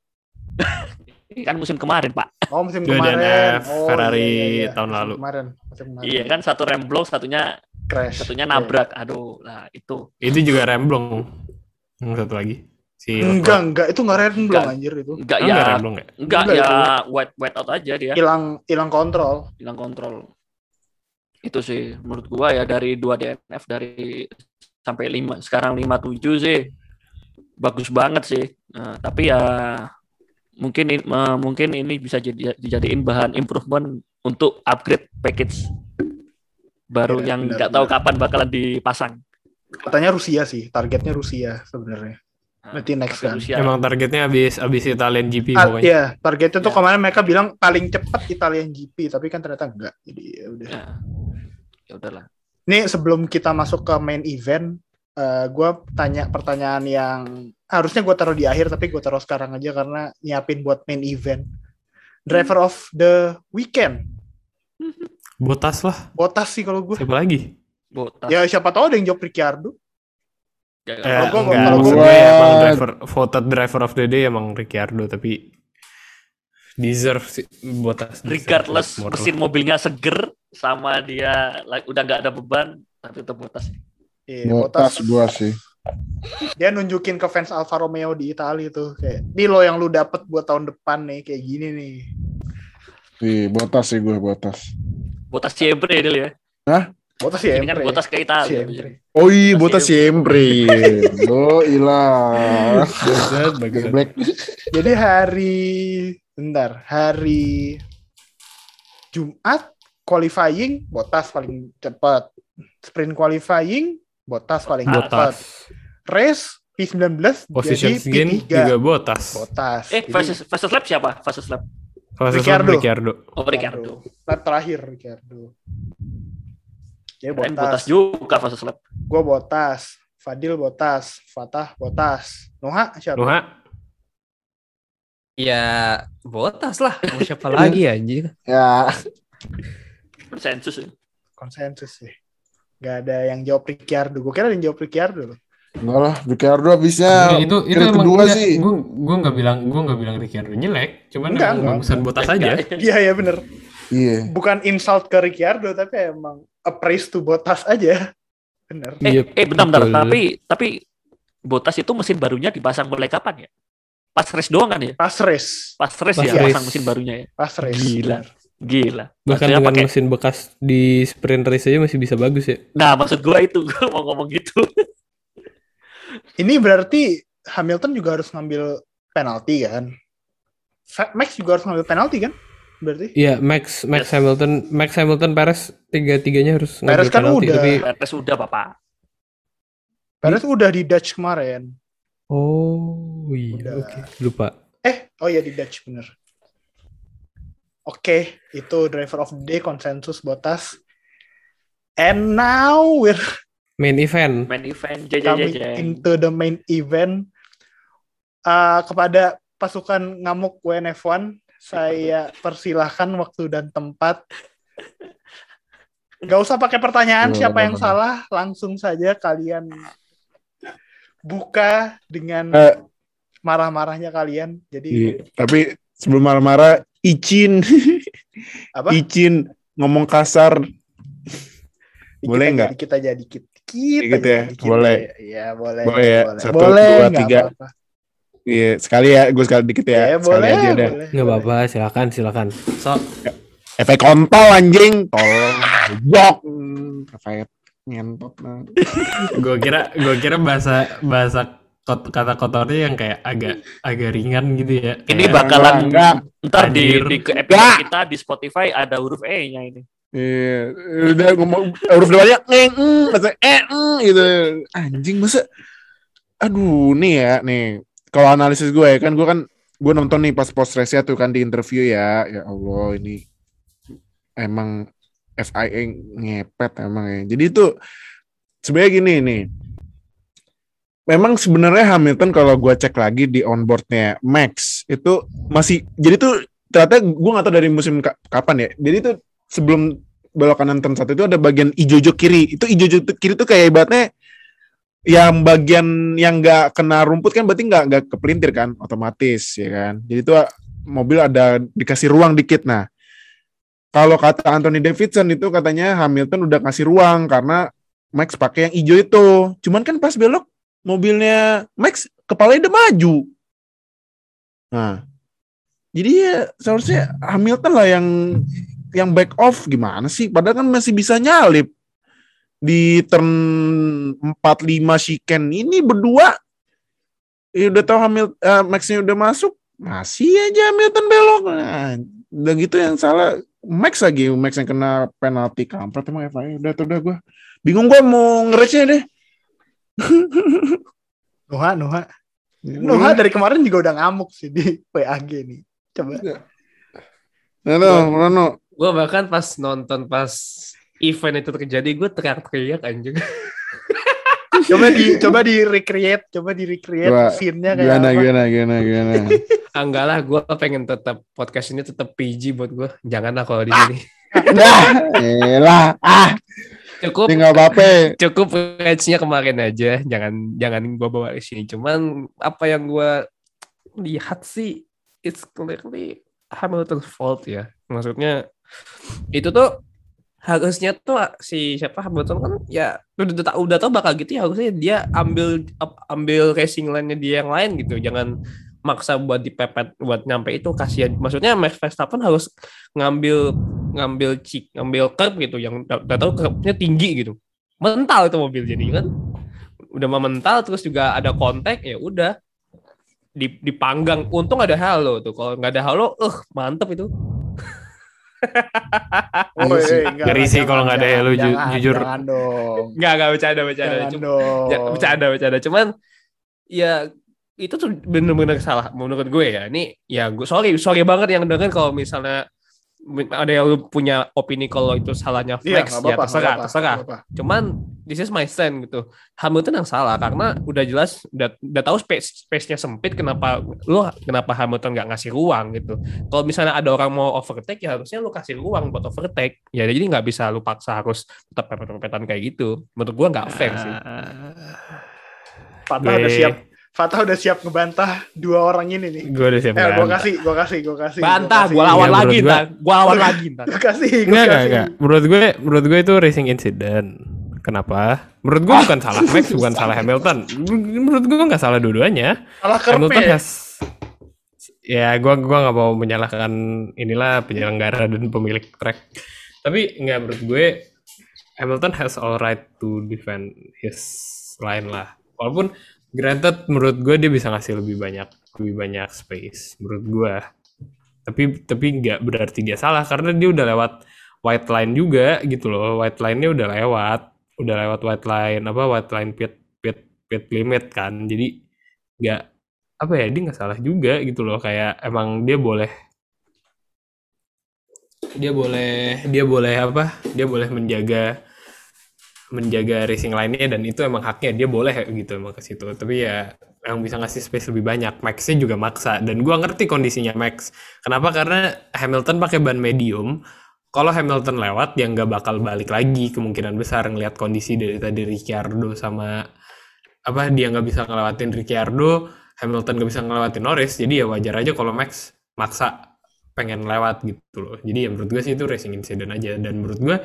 Kan musim kemarin, Pak. Oh, musim dua kemarin. D N F oh, Ferrari iya, iya, iya. tahun musim lalu. Kemarin. Musim kemarin. Iya kan, satu rem blong, satunya crash. Satunya nabrak. Aduh, nah itu. Itu juga rem blong. Yang satu lagi. Si enggak, enggak, itu enggak rem blong anjir itu. Enggak, oh, ya. Enggak rem blong ya? Enggak, enggak ya itu. white white out aja dia. Hilang hilang kontrol. Hilang kontrol. Itu sih menurut gua ya dari dua D N F dari sampai lima, sekarang lima tujuh sih. Bagus banget sih. Nah, tapi ya mungkin uh, mungkin ini bisa jadi dijadiin bahan improvement untuk upgrade package baru ya, yang nggak tahu kapan bakalan dipasang. Katanya Rusia sih, targetnya Rusia sebenarnya. Nanti next kan. Rusia. Emang targetnya habis habis Italian G P ah, pokoknya. Iya, targetnya tuh ya. Kemarin mereka bilang paling cepat Italian G P, tapi kan ternyata enggak. Jadi ya udah. Ya, ya udahlah. Nih sebelum kita masuk ke main event, uh, gue tanya pertanyaan yang harusnya gue taruh di akhir, tapi gue taruh sekarang aja karena nyiapin buat main event. Driver of the weekend. Bottas lah. Bottas sih kalau gue. Siapa lagi? Bottas. Ya siapa tahu ada yang jawab Ricciardo. Eh, kalau gue kalau gue emang driver voted driver of the day emang Ricciardo, tapi deserve sih Bottas. Regardless mesin mobilnya seger sama dia like, udah nggak ada beban, tapi tetap Bottas. Iya, Bottas gua sih. Dia nunjukin ke fans Alfa Romeo di Italia tuh kayak, "Ini lo yang lu dapet buat tahun depan nih, kayak gini nih." Iya, Bottas sih gue Bottas. Bottas siempre dia ya. Hah? Bottas ya. Ini kan Bottas ke Italia. Oh iya, Bottas siempre. Oh, ilah. Black. Jadi hari bentar, hari Jumat qualifying Bottas paling cepat. Sprint qualifying Bottas paling cepat. Race P sembilan belas position jadi P tiga juga Bottas. Bottas. Eh, fastest fastest lap siapa? Fastest lap. Ricciardo. Ricciardo. Oh, Ricciardo. Lap terakhir Ricciardo. Ya Bottas. Bottas juga fastest lap. Gue Bottas, Fadil Bottas, Fatah Bottas, Noha siapa? Noha. Ya Bottas lah. Mau siapa lagi anjing? Ya. Konsensus ya. Konsensus sih. Gak ada yang jawab Ricciardo. Gue kira ada yang jawab Ricciardo loh. Enggak lah, Ricciardo habisnya itu itu emang kedua enggak, sih. Gue gue nggak bilang gue nggak bilang Ricciardo jelek, cuman enggak, emang enggak. bagusan Bottas aja. Iya ya bener. Iya. Bukan insult ke Ricciardo tapi emang a praise to Bottas aja. Bener. Eh, Iya, eh bentar, bentar. betul. Tapi tapi Bottas itu mesin barunya dipasang mulai kapan ya? Pas race doang kan ya? Pas race. Pas race Pas ya race. pasang mesin barunya ya. Pas race. Gila. Gila. Bahkan Maksudnya dengan pakai- mesin bekas di sprint race aja masih bisa bagus ya. Nah, maksud gua itu gua mau ngomong gitu. Ini berarti Hamilton juga harus ngambil penalti kan? Fa- Max juga harus ngambil penalti kan? Berarti? Iya, Max Max Yes. Hamilton, Max Hamilton, Perez tiga-tiganya harus ngambil Perez kan penalti, udah. tapi Perez udah, Bapak. Perez udah di Dutch kemarin. oh iya, Udah. oke, lupa. Eh, oh iya di Dutch bener. Oke, itu driver of the day konsensus Bottas. And now we're Main event. Main event J J J coming J. into the main event. Uh, kepada pasukan ngamuk W N F satu, saya persilahkan waktu dan tempat. Gak usah pakai pertanyaan Bener, siapa yang bener. salah, langsung saja kalian buka dengan Eh, marah-marahnya kalian. Jadi iya. Tapi sebelum marah-marah, Icin, apa? Icin ngomong kasar, Dikit boleh aja, nggak? Dikit aja, dikit. Dikit Dikit aja, ya? dikit Boleh. aja. Iya, boleh. Boleh ya? Boleh, Satu, boleh, dua, nggak tiga. apa-apa. Iya, sekali ya, gue sekali dikit ya, Iya, sekali boleh, aja dah. boleh. Nggak boleh. apa-apa, silakan, silakan. Sok. Efek kontol anjing, tolong, jok, efek ngentot. Nah. Gue kira, gue kira bahasa bahasa kot- kata kotornya yang kayak agak agak ringan gitu ya. Ini Kayak, bakalan enggak, ntar di, Anjir. di ke episode Enggak. kita di Spotify ada huruf E-nya ini. Iya, udah ngomong huruf depannya ngeng, mm, masa eh mm, gitu. Anjing masa. Aduh, nih ya, nih. Kalau analisis gue ya kan gue kan gue nonton nih pas post race tuh kan di interview ya. Ya Allah, ini emang F I A ngepet emang ya. Jadi itu sebenarnya gini nih. Memang sebenarnya Hamilton kalau gue cek lagi di onboardnya Max itu masih jadi tuh ternyata gue nggak tahu dari musim ka- kapan ya. Jadi tuh sebelum belok kanan turn satu itu ada bagian ijo-ijo kiri. Itu ijo-ijo kiri tuh kayak ibaratnya yang bagian yang nggak kena rumput kan berarti nggak nggak kepelintir kan otomatis ya kan. Jadi tuh mobil ada dikasih ruang dikit. Nah kalau kata Anthony Davidson itu katanya Hamilton udah kasih ruang karena Max pakai yang ijo itu. Cuman kan pas belok mobilnya Max kepalanya udah maju. Nah, jadi ya seharusnya Hamilton lah yang yang back off gimana sih? Padahal kan masih bisa nyalip di turn empat lima chicane ini berdua. Ya udah tahu Hamilton uh, Max-nya udah masuk, masih aja Hamilton belok. Nah, udah gitu yang salah Max lagi, Max yang kena penalti kampret emang F I A. Udah tuh udah gue bingung gue mau ngeresnya deh. Nuha, Nuha. Nuha dari kemarin juga udah ngamuk sih di W A G nih. Coba. Rano, Rano. Gue bahkan pas nonton pas event itu terjadi, gue teriak-teriak anjing. Coba di coba di recreate, coba di recreate Coba, scene-nya kayak Gimana, apa. gimana, gimana, gimana. Ah, enggak lah, gue pengen tetap podcast ini tetap P G buat gue. Janganlah kalau di sini. Dah, elah, ah, Cukup tinggal apa? cukup match-nya kemarin aja. Jangan jangan gue bawa ke sini. Cuman apa yang gue lihat sih, it's clearly Hamilton's fault ya. Maksudnya itu tuh harusnya tuh si siapa Hamilton kan ya udah udah, udah tahu bakal gitu ya, harusnya dia ambil ambil racing line-nya dia yang lain gitu. Jangan maksa buat dipepet buat nyampe itu, kasihan. Maksudnya Max Verstappen harus ngambil ngambil cik ngambil curb gitu yang udah, udah tahu curbnya tinggi gitu. Mental itu mobil jadi kan. Udah mau mental terus juga ada kontak ya udah dipanggang. Untung ada halo tuh. Kalau nggak ada halo, eh uh, mantep itu. Oh, iya, enggak, Ngeri sih kalau nggak ada jangan, Hello, ju- jangan, jujur. Jangan dong. Nggak, nggak bercanda, bercanda. Jangan Cuma, dong. ya, bercanda, bercanda. Cuman, ya itu tuh bener-bener salah menurut gue ya. Ini, ya gue sorry, sorry banget yang denger kalau misalnya ada yang punya opini kalau itu salahnya Iya, Max, nggak ya apa-apa, terserah, nggak apa-apa, terserah. nggak apa-apa. Cuman, this is my stand gitu. Hamilton yang salah karena udah jelas, udah, udah tahu space space-nya sempit. Kenapa lu, kenapa Hamilton nggak ngasih ruang gitu? Kalau misalnya ada orang mau overtake, ya harusnya lu kasih ruang buat overtake. Ya jadi nggak bisa lu paksa harus tetap pepet-pepetan kayak gitu. Menurut gua nggak fair sih. Fatah udah siap. Fatah udah siap ngebantah dua orang ini nih. Gue udah siap Eh, gue bantah. kasih, gue kasih, gue kasih. Bantah, kasih. gua lawan Iya, lagi menurut gua- ntar. Gua lawan lagi ntar. Gue kasih, gue Enggak, enggak, kasih. enggak. Menurut gue, menurut gue itu racing incident. Kenapa? Menurut gue bukan salah Max, bukan salah Hamilton. Menurut gue nggak salah dua-duanya. Salah Hamilton kerpe. has, ya gue gua nggak mau menyalahkan inilah penyelenggara dan pemilik track. Tapi nggak, menurut gue Hamilton has all right to defend his line lah. Walaupun granted menurut gue dia bisa ngasih lebih banyak lebih banyak space menurut gue. Tapi tapi nggak berarti dia salah karena dia udah lewat white line juga gitu loh. White line-nya udah lewat, udah lewat white line apa white line pit pit pit limit kan. Jadi nggak apa ya, dia nggak salah juga gitu loh. Kayak emang dia boleh dia boleh dia boleh apa? Dia boleh menjaga menjaga racing line-nya dan itu emang haknya, dia boleh gitu emang ke situ. Tapi ya yang bisa ngasih space lebih banyak. Max-nya juga maksa dan gua ngerti kondisinya Max. Kenapa? Karena Hamilton pakai ban medium, kalau Hamilton lewat ya nggak bakal balik lagi kemungkinan besar ngelihat kondisi dari tadi Ricciardo sama apa dia nggak bisa ngelewatin Ricciardo, Hamilton nggak bisa ngelewatin Norris, jadi ya wajar aja kalau Max maksa pengen lewat gitu loh. Jadi ya menurut gue sih itu racing incident aja, dan menurut gue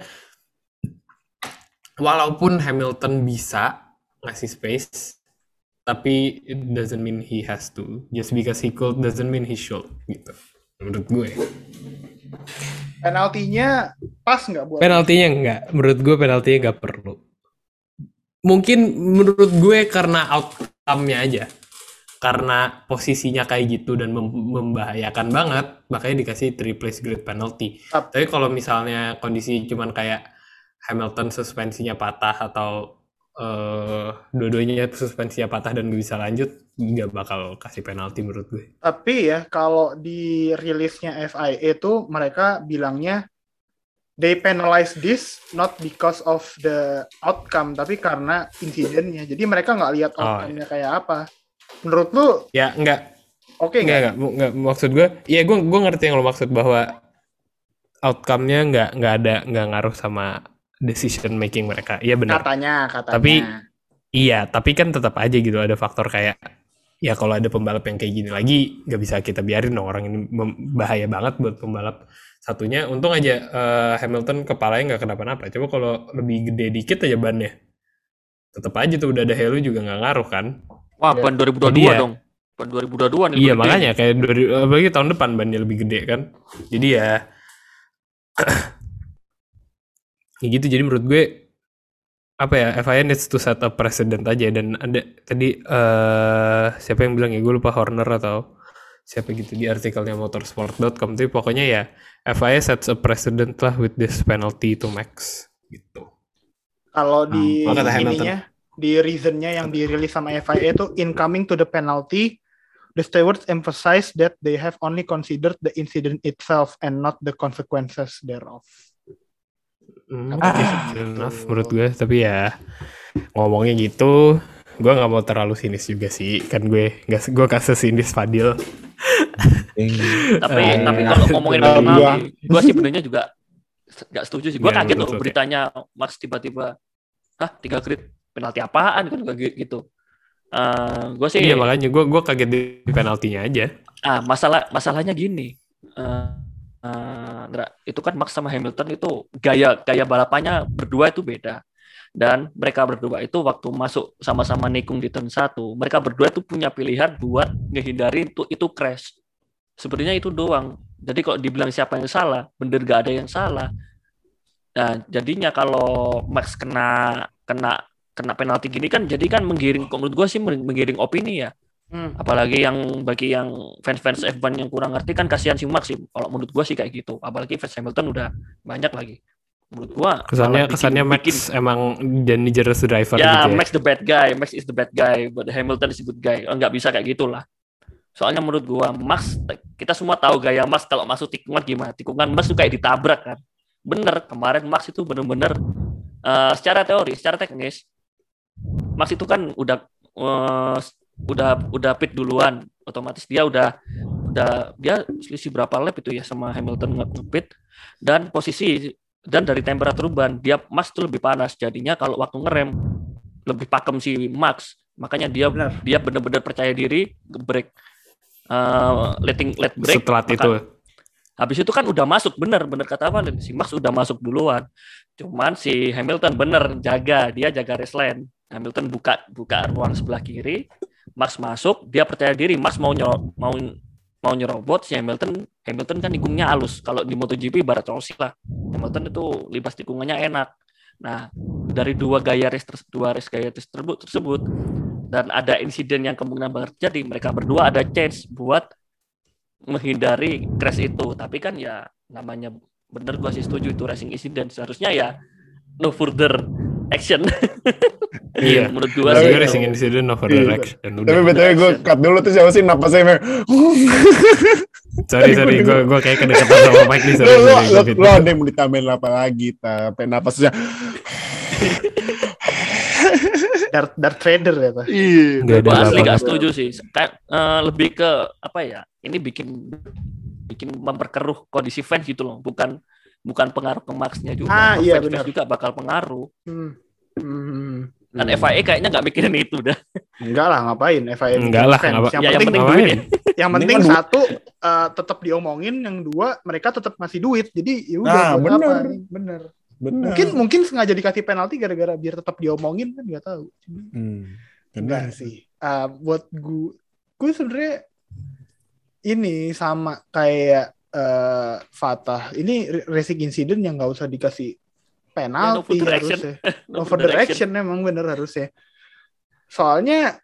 walaupun Hamilton bisa ngasih space, tapi it doesn't mean he has to. Just because he could doesn't mean he should gitu. Menurut gue. Penaltinya pas nggak buat? Penaltinya nggak. Menurut gue penaltinya nggak perlu. Mungkin menurut gue karena outcome-nya aja. Karena posisinya kayak gitu dan mem- membahayakan banget, makanya dikasih three place grid penalty. Ap- Tapi kalau misalnya kondisi cuman kayak Hamilton suspensinya patah atau uh, dua-duanya suspensinya patah dan gak bisa lanjut, nggak bakal kasih penalti menurut gue. Tapi ya kalau di rilisnya F I A itu mereka bilangnya they penalize this not because of the outcome, tapi karena insidennya. Jadi mereka nggak lihat Oh, outcome-nya kayak apa. Menurut lu Ya enggak, oke enggak, nggak? enggak, enggak, maksud gue, ya gue gue ngerti yang lo maksud bahwa outcome-nya nggak nggak ada nggak ngaruh sama decision making mereka. Iya benar. Katanya, katanya. Tapi iya, tapi kan tetap aja gitu ada faktor kayak ya kalau ada pembalap yang kayak gini lagi nggak bisa kita biarin dong, orang ini mem- bahaya banget buat pembalap satunya. Untung aja eh, Hamilton kepalanya nggak kenapa-napa. Coba kalau lebih gede dikit aja bannya, tetap aja tuh udah ada halo juga nggak ngaruh kan. Wah, Ya. ban dua ribu dua puluh dua Jadi ya- dong. Ban dua ribu dua puluh dua nih. Iya lebih gede. makanya kayak dari apalagi tahun depan bannya lebih gede kan. Jadi ya ya gitu. Jadi menurut gue apa ya, F I A needs to set a precedent aja. Dan ada tadi eh siapa yang bilang ya, gue lupa, Horner atau siapa gitu di artikelnya motorsport dot com, tapi pokoknya ya F I A sets a precedent lah with this penalty to Max gitu. Kalau di Hmm, kata Hamilton. ininya, di reasonnya yang dirilis sama F I A itu in coming to the penalty, the stewards emphasize that they have only considered the incident itself and not the consequences thereof. Hmm, Ah, fair enough menurut gue, tapi ya ngomongnya gitu, gue nggak mau terlalu sinis juga sih, kan gue nggak gue kasih sinis Fadil. Tapi Eh, tapi kalau ngomongin gua- penalti, gue sih sebenarnya juga nggak setuju sih. Gue Gimana kaget menurut loh lo, Teh? beritanya Max tiba-tiba, hah tiga grid penalti apaan kan gue gitu. Gue sih Iya makanya gue gue kaget di penaltinya aja. ah masalah masalahnya gini. Eh, eh, Ndra, itu kan Max sama Hamilton itu gaya gaya balapannya berdua itu beda. Dan mereka berdua itu waktu masuk sama-sama nikung di turn satu, mereka berdua itu punya pilihan buat ngehindari itu itu crash. Sebenarnya itu doang. Jadi kalau dibilang siapa yang salah, bener gak ada yang salah. Nah, jadinya kalau Max kena kena kena penalti gini kan, jadi kan menggiring, menurut gue sih menggiring opini ya. Hmm. Apalagi yang bagi yang fans-fans F satu yang kurang ngerti kan kasihan si Max sih. Kalau menurut gue sih kayak gitu. Apalagi fans Hamilton udah banyak lagi. Menurut gue Kesannya kesannya Max emang dangerous driver ya, gitu ya. Max the bad guy, Max is the bad guy, but Hamilton is the good guy. Oh, nggak bisa kayak gitulah. Soalnya menurut gua Max, kita semua tahu gaya Max kalau masuk tikungan gimana. Tikungan Max tuh kayak ditabrak kan. Bener, kemarin Max itu bener-bener uh, secara teori, secara teknis Max itu kan udah uh, udah udah pit duluan, otomatis dia udah udah dia selisih berapa lap itu ya sama Hamilton nge-pit, dan posisi dan dari temperatur ban dia Max tuh lebih panas, jadinya kalau waktu ngerem lebih pakem si Max, makanya dia Benar. dia benar-benar percaya diri break, uh, letting let break. Setelah maka, itu habis itu kan udah masuk, bener bener kata Valen, si Max udah masuk duluan, cuman si Hamilton bener jaga, dia jaga race lane. Hamilton buka buka ruang sebelah kiri, Max masuk, dia percaya diri, Max mau nyerobot, mau mau nyerobot si Hamilton. Hamilton kan tikungnya halus, kalau di MotoGP ibarat Rossi lah, Hamilton itu libas tikungannya enak. Nah, dari dua gaya race tersebut, dua race gaya race tersebut, tersebut dan ada insiden yang kemungkinan bakal terjadi, mereka berdua ada chance buat menghindari crash itu. Tapi kan ya namanya, bener gua sih setuju itu racing incident, seharusnya ya no further action. iya. Menurut gua Tapi sih racing incident over Iya. direction. Tapi Udah. btw gue cut dulu tuh, siapa sih napasnya emang. Sorry sorry, gue gue kayak kedekatan sama Mike nih. Lo Sorry, lo sorry, lo, David. lo ada yang mau ditambahin apa lagi? Tapi napasnya. Dart, Dart Trader ya, Pak. Iya. Nggak ada gua asli apa-apa. gak setuju sih. Kayak eh, lebih ke apa ya? Ini bikin bikin memperkeruh kondisi fans gitu loh. Bukan bukan pengaruh ke Max-nya juga. Ah, iya, Fans benar. juga bakal pengaruh. Hmm. Hmm. Dan F I A kayaknya nggak mikirin itu dah. Enggak lah, ngapain F I A Enggak lah, fans. ngapa- Yang Ya, yang penting penting ngapain? duit ya. yang Ini penting kan duit. satu eh, tetap diomongin, yang dua mereka tetap ngasih duit. Jadi ya udah Nah, buat bener. apa? Bener. Benar. Mungkin mungkin sengaja dikasih penalti gara-gara biar tetap diomongin kan nggak tahu. Hmm. Enggak Benar. sih. Ah, buat gue gue sebenarnya ini sama kayak eh, Fatah. Ini racing incident yang nggak usah dikasih penalti Ya, no further action. harusnya. No No further action emang bener harusnya. Soalnya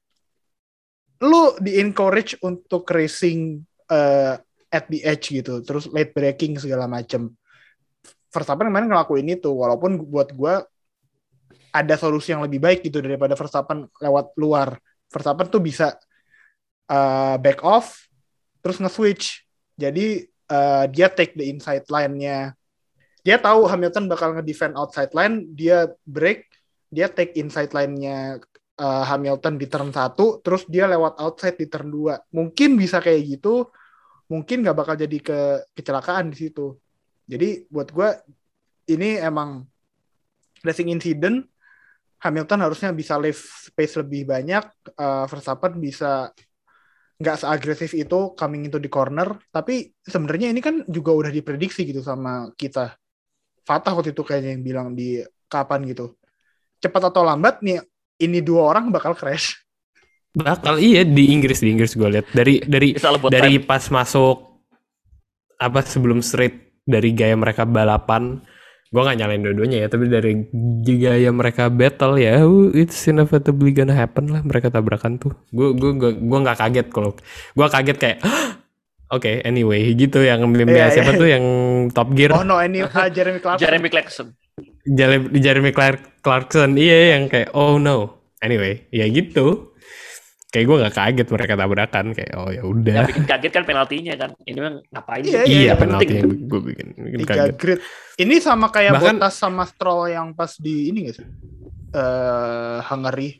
lu di-encourage untuk racing eh, at the edge gitu, terus late braking segala macem. Verstappen kemarin ngelakuin itu, walaupun buat gue ada solusi yang lebih baik gitu daripada Verstappen lewat luar. Verstappen tuh bisa uh, back off, terus nge-switch. Jadi uh, dia take the inside line-nya. Dia tahu Hamilton bakal nge-defend outside line, dia break, dia take inside line-nya uh, Hamilton di turn satu, terus dia lewat outside di turn dua. Mungkin bisa kayak gitu, mungkin nggak bakal jadi ke kecelakaan di situ. Jadi buat gue ini emang racing incident. Hamilton harusnya bisa leave space lebih banyak. Uh, Verstappen bisa nggak seagresif itu coming into the corner. Tapi sebenarnya ini kan juga udah diprediksi gitu sama kita. Fatah waktu itu kayaknya yang bilang di kapan gitu. Cepat atau lambat nih ini dua orang bakal crash. Bakal iya di Inggris di Inggris gue lihat dari dari Bisa lebot dari time. pas masuk apa sebelum straight dari gaya mereka balapan, gue nggak nyalain dua-duanya ya, tapi dari gaya mereka battle ya, uh, it's inevitably gonna happen lah mereka tabrakan tuh. Gue gue gue gue nggak kaget kalau gue kaget kayak oke okay, anyway gitu yang Iya, yeah, siapa iya. tuh yang Top Gear Oh no, ini uh, Jeremy Clarkson. Jeremy Clarkson. Jeremy, Jeremy Clark- Clarkson iya yang kayak oh no anyway ya gitu. Kayak gue nggak kaget mereka tabrakan kayak oh ya Yang udah. bikin kaget kan penaltinya kan. Ini mah ngapain? Iya, sih? Iya iya, penalti penting. yang gue bikin, bikin Tiga kaget. grid. Ini sama kayak Bahkan- Bottas sama Stroll yang pas di ini nggak sih? Eh Hungary.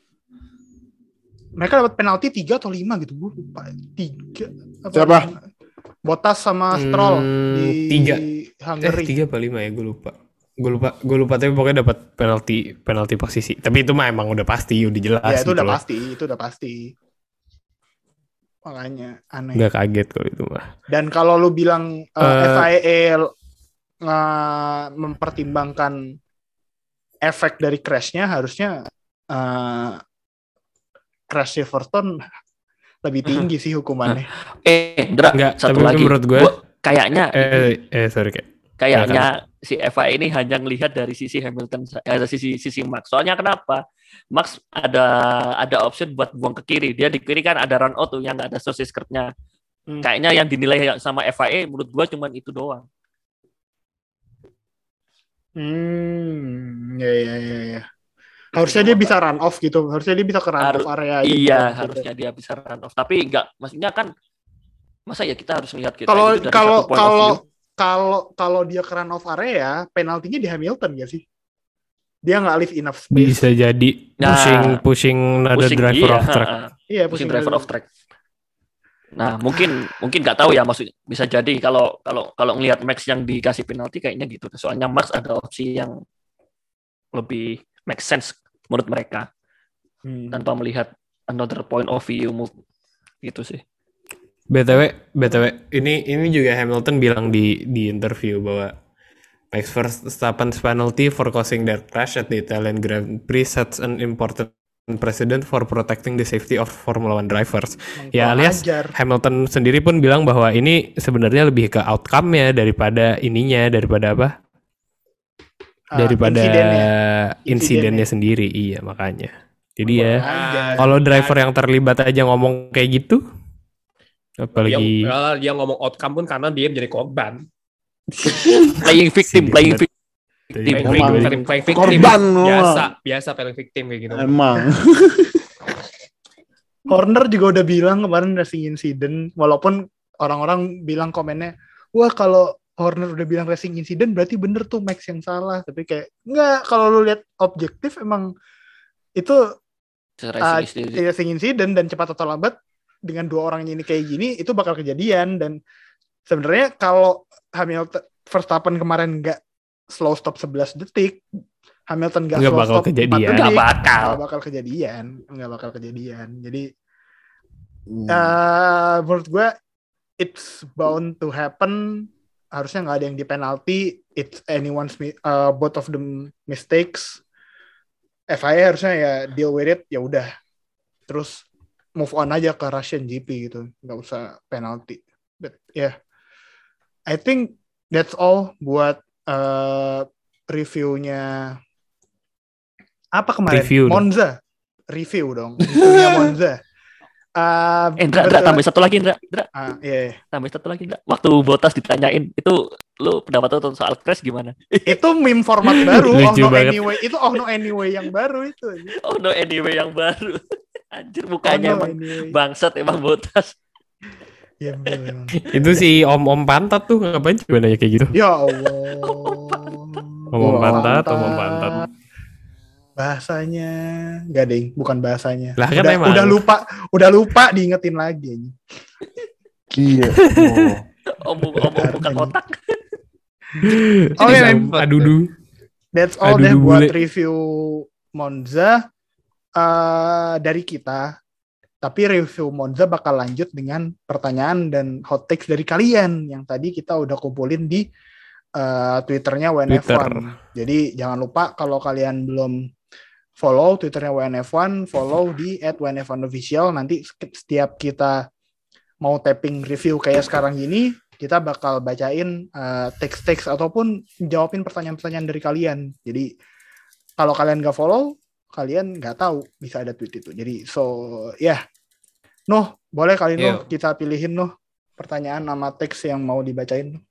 Mereka dapat penalti tiga atau lima gitu, gue lupa. Tiga. Apa Siapa? lima? Bottas sama Stroll Hmm, di tiga. Hungary. Eh tiga apa lima ya gue lupa. Gue lupa, gue lupa tapi pokoknya dapat penalti penalti posisi. Tapi itu mah emang udah pasti, udah jelas. Ya itu gitu udah loh. pasti, itu udah pasti. Makanya aneh. Nggak kaget kalau itu mah. Dan kalau lu bilang uh, Eh, F I A uh, mempertimbangkan efek dari crash-nya, harusnya uh, crash Silverstone lebih tinggi sih hukumannya. Eh, Dra, Nggak, satu tapi lagi. menurut gue- Gua- kayaknya Eh eh sorry kayak. kayaknya si F I A ini hanya melihat dari sisi Hamilton, eh, sisi sisi Max. Soalnya kenapa? Max ada ada option buat buang ke kiri. Dia di kiri kan ada run out tuh yang nggak ada sosis curve-nya. Hmm. Kayaknya yang dinilai sama F I A menurut gua cuman itu doang. Hmm, ya ya ya ya. Harusnya dia bisa run off gitu. Harusnya dia bisa ke run Harus- off area. gitu. Iya, harusnya dia bisa run off. Tapi enggak, maksudnya kan masa ya kita harus lihat kita Kalau itu dari kalau satu point of kalau view. kalau kalau dia ke run off area, penaltinya di Hamilton gak sih? Dia nggak leave enough space. Bisa jadi Nah, pushing pushing another Pusing, driver iya, off track. ha-ha. Iya, Pusing driver off track. Nah, mungkin mungkin nggak tahu ya, maksud bisa jadi kalau kalau kalau ngelihat Max yang dikasih penalti kayaknya gitu. Soalnya Max ada opsi yang lebih make sense menurut mereka Hmm. tanpa melihat another point of view gitu sih. B T W, B T W, ini ini juga Hamilton bilang di di interview bahwa Max Verstappen's penalty for causing their crash at the Italian Grand Prix sets an important precedent for protecting the safety of Formula One drivers. Ya alias Ajar. Hamilton sendiri pun bilang bahwa ini sebenarnya lebih ke outcome-nya daripada ininya, daripada apa? Ah, Daripada insidennya. insidennya sendiri. Iya, makanya. Jadi ya, Ajar. kalau driver yang terlibat aja ngomong kayak gitu, apalagi Dia, dia ngomong outcome pun karena dia menjadi korban. Playing victim, Sih, playing bener. victim. Playing, Emang. playing, playing, playing victim. Korban, lu. biasa, biasa playing victim kayak gitu. Emang. Horner juga udah bilang kemarin racing incident, walaupun orang-orang bilang komennya, wah kalau Horner udah bilang racing incident berarti bener tuh Max yang salah. Tapi kayak enggak, kalau lu lihat objektif emang itu uh, racing incident dan cepat atau lambat dengan dua orang ini kayak gini itu bakal kejadian. Dan sebenarnya kalau Hamilton Verstappen kemarin nggak slow stop sebelas detik, Hamilton gak Nggak slow bakal stop kejadian. empat detik, Nggak bakal. nggak bakal kejadian, nggak bakal kejadian. Jadi Hmm. uh, menurut gue it's bound to happen. Harusnya nggak ada yang di penalti. It's anyone's mi- uh, both of them mistakes. F I A harusnya ya deal with it, ya udah. Terus move on aja ke Russian G P gitu, nggak usah penalti. But yeah, I think that's all buat uh, reviewnya apa kemarin? Review dong. Monza. Review dong. Reviewnya Monza. Uh, Eh, Indra, Indra, betul- tambah satu lagi, Indra. Indra, Ah, iya, iya. tambah satu lagi, Indra. Waktu Bottas ditanyain, itu lu pendapat lu soal crash gimana? Itu meme format baru. Oh Lucu no banget. anyway. Itu oh no anyway yang baru itu. Oh no, anyway yang baru. Anjir, Oh mukanya no emang anyway. bangsat emang Bottas. Ya, betul, emang. Itu si om-om pantat tuh ngapain coba nanya kayak gitu? Ya Allah. Om-om Om pantat, pantat. om-om pantat. Bahasanya enggak deh, bukan bahasanya. Lah, kan udah, emang. udah lupa, udah lupa diingetin lagi. Iya. Oh. Om, om, om bukan kotak. Oh iya, Om adudu. That's all Aduh, deh aduh, buat bule. review Monza uh, dari kita. Tapi review Monza bakal lanjut dengan pertanyaan dan hot takes dari kalian yang tadi kita udah kumpulin di uh, Twitternya W N F one. Twitter. Jadi jangan lupa kalau kalian belum follow Twitternya W N F one, follow di at W N F one official. Nanti setiap kita mau tapping review kayak sekarang gini, kita bakal bacain uh, teks-teks ataupun jawabin pertanyaan-pertanyaan dari kalian. Jadi kalau kalian nggak follow, kalian nggak tahu bisa ada tweet itu. Jadi so ya, yeah. Noh, boleh kali Noh Yo. kita pilihin Noh pertanyaan nama teks yang mau dibacain.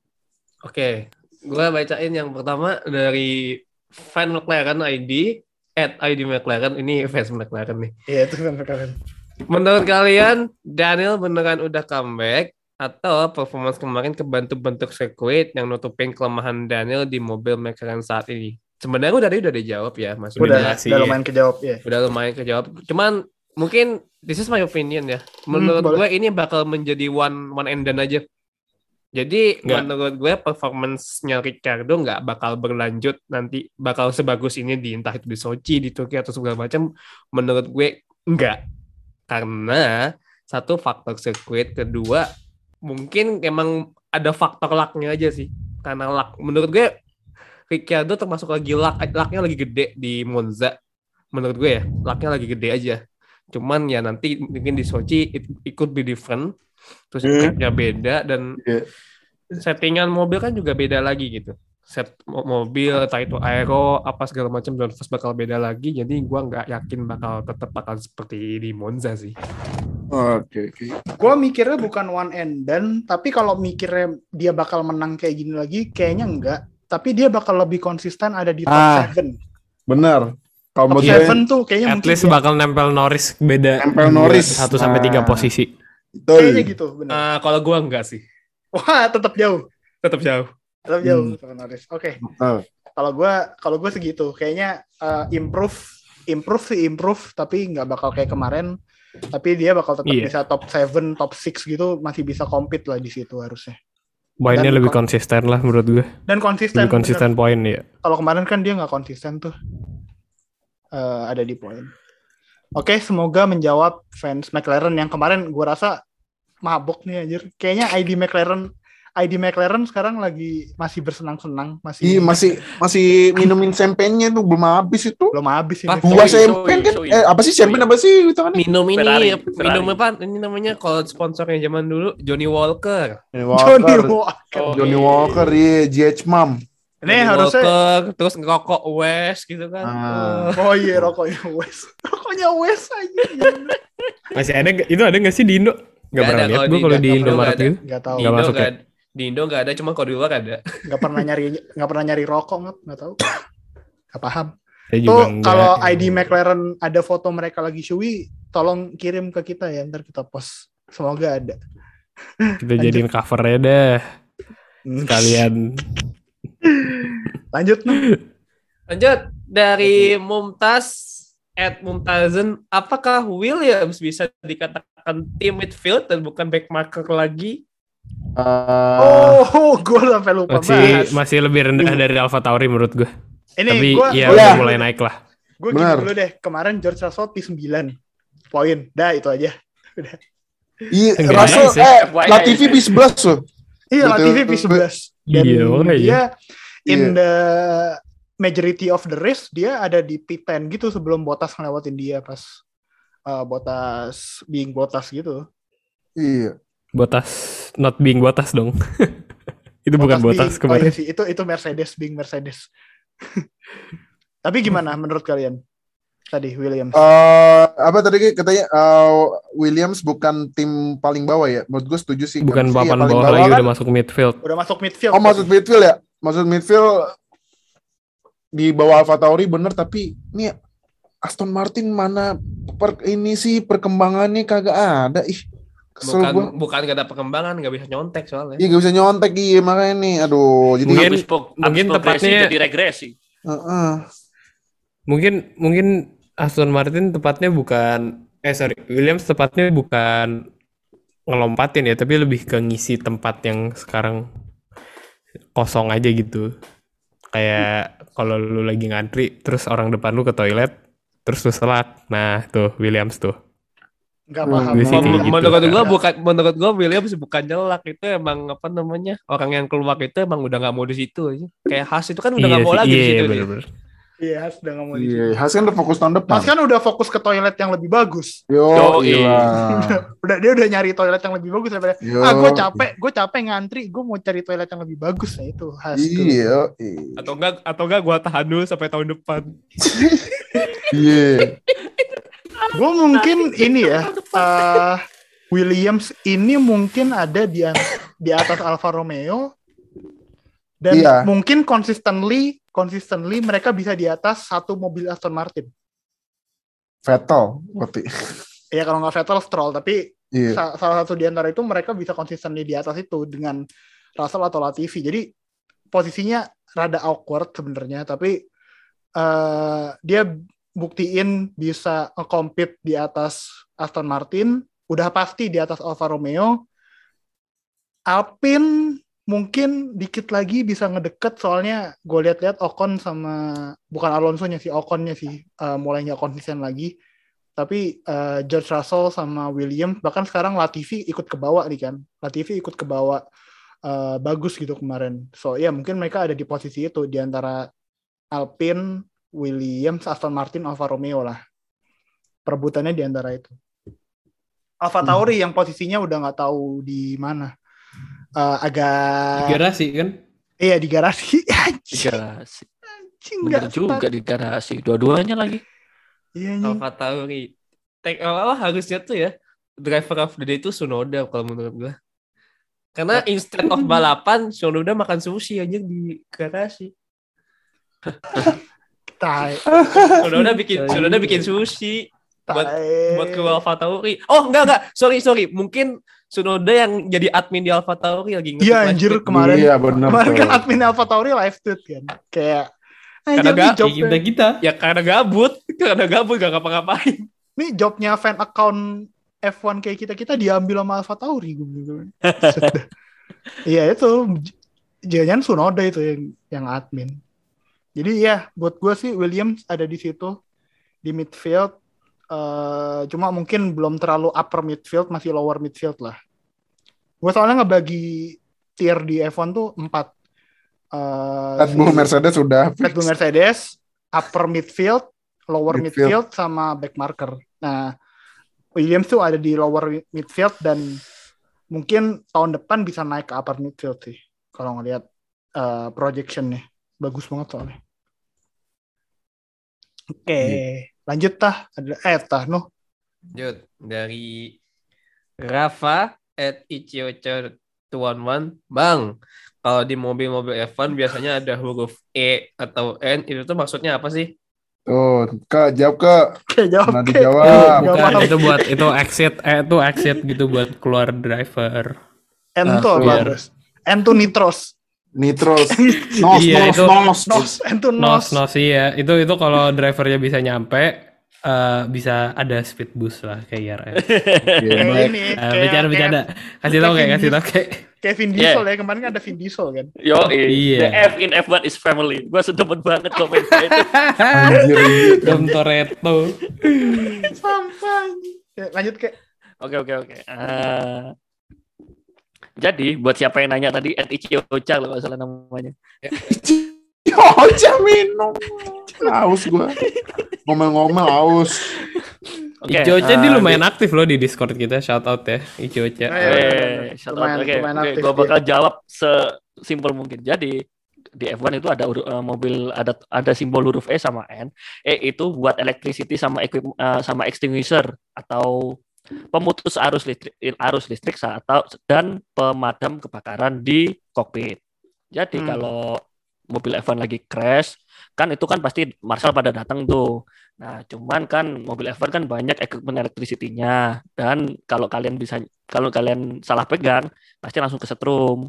Oke, gue bacain yang pertama dari fan McLaren I D at I D McLaren. Ini fans McLaren nih. Iya, itu kan keren. Menurut kalian Daniel beneran udah comeback atau performance kemarin kebantu bentuk sirkuit yang nutupin kelemahan Daniel di mobil McLaren saat ini? Sebenarnya udah tadi udah dijawab ya, Mas. Udah, Udah sih, udah ya. lumayan kejawab ya. Udah lumayan kejawab. Cuman mungkin this is my opinion ya. Menurut Hmm, gue ini bakal menjadi one one and done aja. Jadi Nggak. menurut gue performance-nya Ricardo nggak bakal berlanjut nanti bakal sebagus ini di entah itu di Sochi, di Turki atau segala macam. Menurut gue enggak. Karena satu faktor sirkuit, kedua mungkin emang ada faktor luck-nya aja sih. Karena luck menurut gue Ricciardo termasuk lagi luck, luck-nya lagi gede di Monza. Menurut gue ya, luck-nya lagi gede aja. Cuman ya nanti mungkin di Sochi it, it could be different. Terus sirkuitnya beda dan Iya. settingan mobil kan juga beda lagi gitu. Set mo- mobil, entah itu aero, apa segala macam downforce bakal beda lagi. Jadi gue nggak yakin bakal tetap bakal seperti di Monza sih. Oke, oke. Gue mikirnya bukan one and done, tapi kalau mikirnya dia bakal menang kayak gini lagi, kayaknya enggak. Tapi dia bakal lebih konsisten ada di top Ah, tujuh. Benar. Kalau Top menurut gue, tujuh tuh kayaknya At mungkin least dia- bakal nempel Norris beda Nempel Norris. satu sampai tiga Nah. posisi. betul. kayaknya gitu, benar. Uh, kalau gue enggak sih, Wah, tetap jauh. tetap jauh. Tetap jauh Hmm. sama Norris. Oke. Betul. Kalau gue kalau gue segitu, kayaknya uh, improve improve sih improve, tapi nggak bakal kayak kemarin. Tapi dia bakal tetap Iya. bisa top tujuh, top enam gitu, masih bisa compete lah di situ harusnya. Poinnya Dan lebih kon- konsisten lah menurut gue. Dan konsisten. Lebih konsisten bener. poin ya. Kalau kemarin kan dia nggak konsisten tuh. Eh, ada di poin. Oke, semoga menjawab fans McLaren yang kemarin gue rasa mabok nih anjir. Kayaknya I D McLaren I D McLaren sekarang lagi masih bersenang-senang, masih Iya, masih masih minumin champagne-nya tuh belum habis itu. belum habis ini. Ah, Dua Soi, champagne kan? soi, Eh, apa sih champagne apa sih itu kan? Minum ini, Ferrari, minum Ferrari. apa? Ini namanya kalau sponsornya zaman dulu Johnny Walker. Johnny Johnny Walker. Walker. Oh, Johnny Walker, iya, G H Mom. Ini Johnny harusnya Walker, terus ngerokok West gitu kan. Ah. oh iya rokoknya West. Rokoknya West aja. Masih ada nggak- itu ada nggak sih di Indo? Nggak Nggak pernah ada, lihat kalau gue di- kalau di nggak Indomaret pernah gitu. Enggak tahu. Di Nggak Indo masuk nggak ya? ada. Di Indo nggak ada, cuma kalau di luar ada. Enggak pernah nyari enggak pernah nyari rokok nggak enggak tahu. Enggak paham. Saya juga Tuh enggak. kalau I D McLaren ada foto mereka lagi showy, tolong kirim ke kita ya, ntar kita post. Semoga ada. Kita jadiin covernya dah Hmm. sekalian. Lanjut nih. Lanjut dari Mumtaz at Mumtazen, apakah Williams bisa dikatakan tim midfield dan bukan back marker lagi? Eh, Oh, gue sampai lupa Masih bahas. masih lebih rendah dari Alpha Tauri menurut gue. Ini Tapi gue ya Oh, udah ya. mulai naik lah. gue gini Benar. dulu deh. Kemarin George Russell P sembilan poin. Dah itu aja. Udah. Iya, Enggak Russell, sih. eh, F Y I. Latifi P sebelas loh. Iya, Betul. Latifi P sebelas. Dan Iya, makanya. dia in Iya. the majority of the race dia ada di P sepuluh gitu sebelum Bottas ngelewatin dia pas uh, Bottas being Bottas gitu. Iya. Botas not being Botas dong. Itu bukan Botas being- kemarin. Oh iya sih, itu itu Mercedes being Mercedes. Tapi gimana menurut kalian? Tadi Williams. Eh, apa tadi katanya eh, Williams bukan tim paling bawah ya? Menurut gue setuju sih. Bukan Karena sih papan yang paling bawah lagi kan- udah masuk midfield. Udah masuk midfield. Oh, maksud midfield ya? Maksud midfield di bawah Alpha Tauri bener, tapi ini Aston Martin mana per, ini sih perkembangannya kagak ada. Ih, kesel Bukan gua. bukan gak ada perkembangan, gak bisa nyontek soalnya. Iya, gak bisa nyontek iya makanya nih. Aduh, jadi Mungkin- Habis pro- mungkin habis progresi tepatnya- jadi regresi. Heeh. Mungkin mungkin Aston Martin tepatnya bukan eh sorry Williams tepatnya bukan ngelompatin ya, tapi lebih ke ngisi tempat yang sekarang kosong aja gitu. Kayak kalau lu lagi ngantri terus orang depan lu ke toilet terus lu selak. Nah, tuh Williams tuh. Nggak Hmm, paham. gue sih kayak Men- gitu. menurut gua bukan menurut gua Williams bukan nyelak, itu emang apa namanya, orang yang keluar itu emang udah nggak mau di situ aja. Kayak Haas itu kan udah nggak mau sih, lagi di iya, situ. dia. bener-bener. Iya, Has udah nggak mau di Iya, situ. Haas kan udah fokus tahun depan. Mas kan udah fokus ke toilet yang lebih bagus. Yo, Yoi. iya. Udah dia udah nyari toilet yang lebih bagus daripada Yo. ah gue capek, gue capek ngantri, gue mau cari toilet yang lebih bagus. Nah itu Has. tuh. Iya. iya. Atau enggak atau enggak gua tahan dulu sampai tahun depan. Iya. Gue mungkin ini ya, eh, Williams ini mungkin ada di di atas Alfa Romeo dan Iya. mungkin consistently consistently mereka bisa di atas satu mobil Aston Martin. Vettel berarti. Ya kalau nggak Vettel, Stroll, tapi Iya. sa- salah satu di antara itu mereka bisa consistently di atas itu dengan Russell atau Latifi. Jadi posisinya rada awkward sebenarnya, tapi eh, dia buktiin bisa nge-compete di atas Aston Martin, udah pasti di atas Alfa Romeo. Alpine mungkin dikit lagi bisa ngedeket, soalnya gue lihat-lihat Ocon sama bukan Alonso-nya sih, Ocon-nya sih eh, mulai nggak konsisten lagi. Tapi eh, George Russell sama Williams, bahkan sekarang Latifi ikut ke bawah nih kan. Latifi ikut ke bawah eh, bagus gitu kemarin. So ya mungkin mereka ada di posisi itu di antara Alpine, Williams, Aston Martin, Alfa Romeo lah. Perebutannya di antara itu. Alfa Tauri yang posisinya udah nggak tahu di mana. Eh, agak Garasi kan? iya di garasi. Di Anjing, garasi. anjing, Bener nggak juga start. di garasi. Dua-duanya lagi. Iya anjing. Alfa Tauri. Take apa harusnya tuh ya, driver of the day itu Tsunoda kalau menurut gua. Karena instead of balapan, Tsunoda makan sushi aja di garasi. Tai, Tsunoda bikin Tsunoda bikin sushi buat tai. buat ke Alfa Tauri. Oh enggak enggak, sorry sorry, mungkin Tsunoda yang jadi admin di Alfa Tauri lagi nge-tweet Iya live anjir tweet. kemarin. Iya benar. Kemarin kan tuh. admin Alfa Tauri live tweet kan. Kayak Karena anjir nih gak- job kita kita. Ya karena gabut, karena gabut gak ngapa-ngapain. nih jobnya fan account F satu kayak kita-kita diambil sama Alfa Tauri gue bilang. Iya itu jangan Tsunoda itu yang yang admin. Jadi ya buat gue sih Williams ada di situ di midfield. Eh, cuma mungkin belum terlalu upper midfield, masih lower midfield lah. Gue soalnya ngebagi tier di F satu tuh empat. Eh, Red Bull si- Mercedes sudah Red Bull Mercedes, upper midfield, lower midfield, Midfield. sama back marker. Nah, Williams tuh ada di lower midfield dan mungkin tahun depan bisa naik ke upper midfield sih. Kalau ngelihat uh, projectionnya. Bagus banget soalnya. Oke, lanjut tah. Ada eh tah noh. Lanjut dari Rafa at Ichiocho dua satu. Bang, kalau di mobil-mobil F satu biasanya ada huruf E atau N, itu tuh maksudnya apa sih? Tuh, Kak, jawab Kak. Oke, jawab. Nah, Oke. dijawab. Nggak Bukan, paham. itu buat itu exit eh itu exit gitu buat keluar driver. N Ah, tuh apa, biar- Bros? N tuh nitros. Nitros. Nos, Iya, nos, itu- nos. Nos, N tuh Nos nos. nos iya. Itu itu kalau drivernya bisa nyampe eh, bisa ada speed boost lah kayak I R F. Oke, Kayak baik. ini, Eh, kayak- bercanda bercanda. Kasih tahu kayak kasih tahu kayak. Kayak Vin Diesel ya, kemarin kan ada Vin Diesel kan. Yo, Iya. the F in F one is family. Gua sedemen banget komen itu. Anjir, anjir. Dom Toretto. Sampai. Ya, lanjut kayak. Oke oke oke. Eh, jadi buat siapa yang nanya tadi, at Ichiocha kalau nggak salah namanya. Ocha minum. Haus gua. Ngomel-ngomel haus. Oke. Ichiocha eh, dia lumayan aktif loh di Discord kita. Shout out ya Ichiocha. Eh, Eh, shout out. Lumayan- Oke, lumayan oke, aktif gua dia. bakal jawab sesimpel mungkin. Jadi di F one itu ada uru- eh, mobil ada ada simbol huruf E sama N. E itu buat electricity sama equip eh, sama extinguisher atau pemutus arus listrik arus listrik atau dan pemadam kebakaran di kokpit. Jadi Hmm. kalau mobil F one lagi crash, kan itu kan pasti marshal pada datang tuh. Nah, cuman kan mobil F one kan banyak equipment electricity-nya dan kalau kalian bisa kalau kalian salah pegang pasti langsung kesetrum.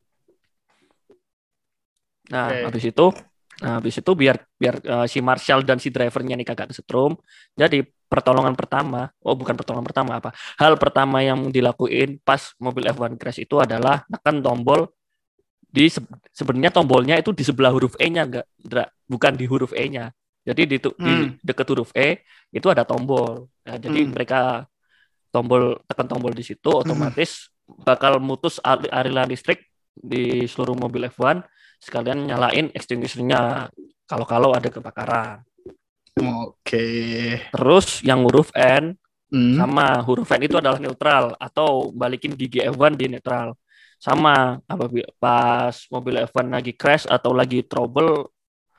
Nah, Oke. habis itu nah, habis itu biar biar eh, si marshal dan si drivernya nih kagak kesetrum. Jadi pertolongan pertama, oh bukan pertolongan pertama apa? Hal pertama yang dilakuin pas mobil F one crash itu adalah tekan tombol di se- sebenarnya tombolnya itu di sebelah huruf E-nya enggak, Dra, bukan di huruf E-nya. Jadi di, tu- di Hmm. dekat huruf E itu ada tombol. Nah, jadi Hmm. mereka tombol tekan tombol di situ otomatis bakal mutus al- aliran listrik di seluruh mobil F one sekalian nyalain extinguisher-nya kalau-kalau ada kebakaran. Oke. Terus yang huruf N Hmm. sama huruf N itu adalah neutral atau balikin gigi F one di neutral. Sama apabila pas mobil F one lagi crash atau lagi trouble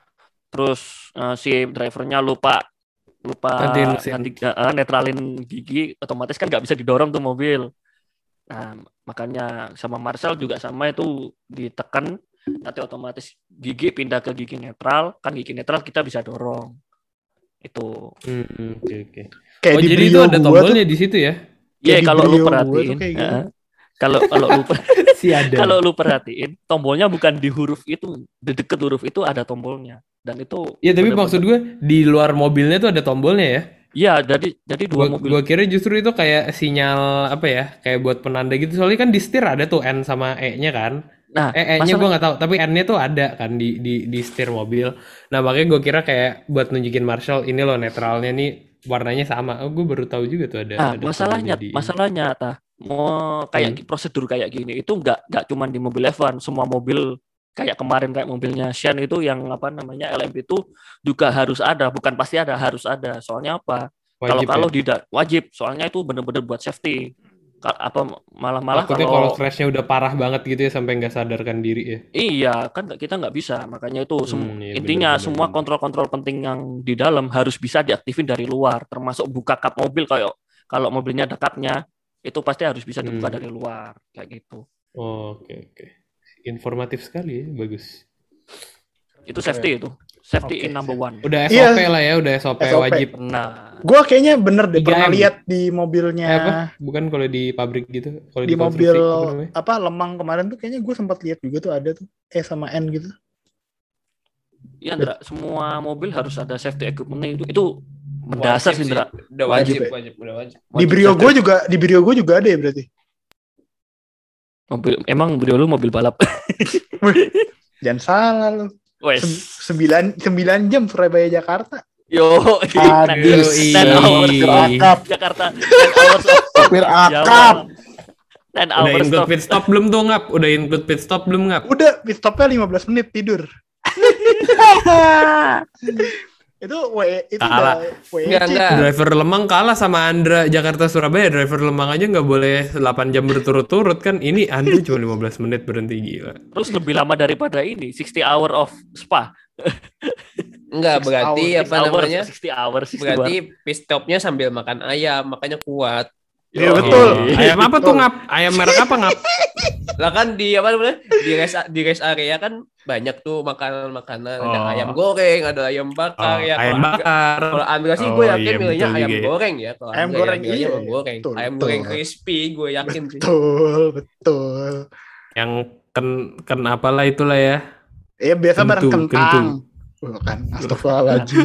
terus eh, si drivernya lupa lupa Gantiin mesin. ganti eh, netralin gigi otomatis kan nggak bisa didorong tuh mobil. Nah, makanya sama Marshall juga sama itu ditekan nanti otomatis gigi pindah ke gigi netral, kan gigi netral kita bisa dorong. Itu. Hmm, oke oke. Kayak Oh di jadi itu Brio ada gua tombolnya tuh, di situ ya? Iya, di kalau lu Brio gua tuh perhatiin, kayak gitu. eh, kalau kalau lu per- Si ada. kalau lu perhatiin, tombolnya bukan di huruf itu, di deket huruf itu ada tombolnya. Dan itu Iya tapi bener-bener- maksud gue di luar mobilnya tuh ada tombolnya ya? Iya, jadi jadi dua Gua, mobil. gua kira justru itu kayak sinyal apa ya? Kayak buat penanda gitu. Soalnya kan di setir ada tuh N sama E-nya kan. Nah, Eh, E-nya masalah- gue nggak tahu, tapi N-nya tuh ada kan di di di setir mobil. Nah makanya gue kira kayak buat nunjukin Marshall ini loh netralnya nih warnanya sama. Oh gue baru tahu juga tuh ada. Nah, ada masalahnya, tombolnya di- masalahnya, tah, mau kayak prosedur kayak gini itu nggak nggak cuma di mobil F one, semua mobil kayak kemarin kayak mobilnya Shan itu yang apa namanya L M P itu juga harus ada, bukan pasti ada, harus ada. Soalnya apa? Kalau wajib kalau ya? tidak wajib, soalnya itu benar-benar buat safety. Ka- Apa malah-malah Takutnya kalau kalau crashnya udah parah banget gitu ya sampai nggak sadarkan diri ya. iya kan nggak- kita nggak bisa, makanya itu sem- Hmm, iya, intinya bener, bener, semua bener. kontrol-kontrol penting yang di dalam harus bisa diaktifin dari luar, termasuk buka kap mobil kayak kalau mobilnya ada kapnya itu pasti harus bisa dibuka Hmm. dari luar kayak gitu. Oh, oke oke. Informatif sekali ya, bagus. Itu safety itu, safety Oke, in number one. Udah S Iya. O P lah ya, udah S O P, S O P. wajib. Nah, Gue kayaknya bener deh tiga pernah M. lihat di mobilnya, Eh, apa? Bukan kalau di pabrik gitu, kalau di mobil konstruksi, apa namanya? apa Lemang kemarin tuh kayaknya gue sempat lihat juga tuh ada tuh E sama N gitu. iya Ndra, semua mobil harus ada safety equipment itu itu mendasar Wajib sih Ndra. Udah Wajib wajib, ya? wajib, udah wajib. Di Wajib Brio safety. gue juga di Brio gue juga ada ya berarti. Mobil emang Brio lu mobil balap. Jangan salah lu. Wes. Sem- sembilan sembilan jam Surabaya Jakarta. Yo, Hadis. ten hours Supir akap. Jakarta, ten hours of Supir akap. ten Udah hours include of pit stop belum tuh ngap? Udah include pit stop belum ngap? Udah pit stopnya lima belas menit tidur. Itu W itu Kalah. udah W E C. Enggak, enggak. Driver Lemang kalah sama Andra Jakarta Surabaya. Driver Lemang aja nggak boleh delapan jam berturut-turut kan. Ini Andra cuma lima belas menit berhenti, gila. terus lebih lama daripada ini sixty hour of spa. Enggak, Six berarti hours, apa Six hours, namanya? sixty hours, sixty Berarti pit stopnya sambil makan ayam, makanya kuat. Iya Yo. betul. Ayam apa tuh ngap? Ayam merek apa ngap? Lah kan di apa namanya? Di rest di rest area kan banyak tuh makanan-makanan, ada Oh. ayam goreng, ada ayam bakar Oh, ya. ayam Kalau- bakar. Kalau Andra sih Oh, gue yakin iya, milihnya betul ayam juga ya. goreng ya. Kalau Ayam Andra goreng, ya, milihnya iya. ayam goreng. Betul, ayam betul. goreng crispy gue yakin sih. Betul, betul. Yang ken ken apalah itulah ya. Iya biasa bareng Kentu, kentang. kentu. Bukan, astagfirullahaladzim.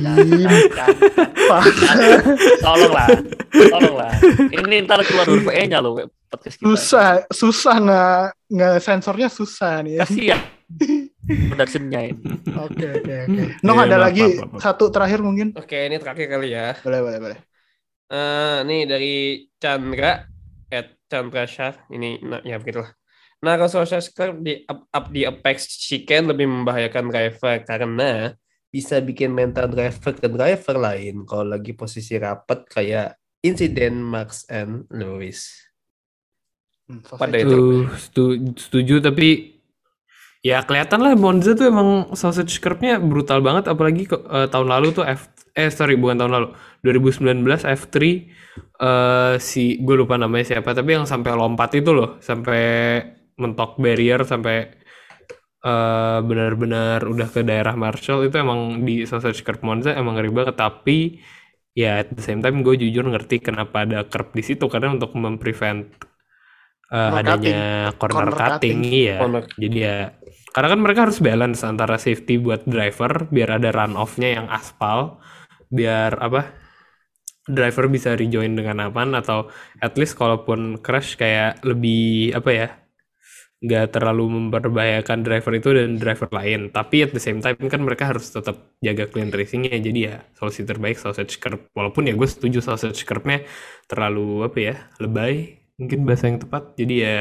Tolonglah, tolonglah. Ini ntar keluar huruf E-nya loh. podcast kita. Susah, susah nggak nggak sensornya susah nih. Ya. Kasihan. Productionnya ini. Oke oke oke. Noh Iya, ada maaf, lagi maaf, maaf. satu terakhir mungkin. Oke, ini terakhir kali ya. Boleh boleh boleh. Eh, nih dari Chandra at Chandra Shah ini nah, ya begitulah. Naruto Social Script di up, up di Apex Chicken lebih membahayakan driver karena bisa bikin mental driver ke driver lain kalau lagi posisi rapat kayak insiden Max and Lewis. Hmm, Pada sausage. itu. Tuh, setu- setuju tapi ya kelihatan lah Monza tuh emang sausage curve-nya brutal banget apalagi ke- eh, tahun lalu tuh F eh sorry bukan tahun lalu dua ribu sembilan belas F tiga eh si gue lupa namanya siapa tapi yang sampai lompat itu loh sampai mentok barrier sampai eh benar-benar udah ke daerah Marshall itu emang di sausage curve Monza emang ngeri banget tapi ya at the same time gue jujur ngerti kenapa ada curve di situ karena untuk memprevent eh, Corner adanya corner, Corner cutting, cutting. iya Corner. jadi ya karena kan mereka harus balance antara safety buat driver biar ada run off-nya yang aspal biar apa driver bisa rejoin dengan aman atau at least kalaupun crash kayak lebih apa ya nggak terlalu memperbahayakan driver itu dan driver lain tapi at the same time kan mereka harus tetap jaga clean racing-nya jadi ya solusi terbaik sausage curve walaupun ya gue setuju sausage curve-nya terlalu apa ya lebay mungkin bahasa yang tepat jadi ya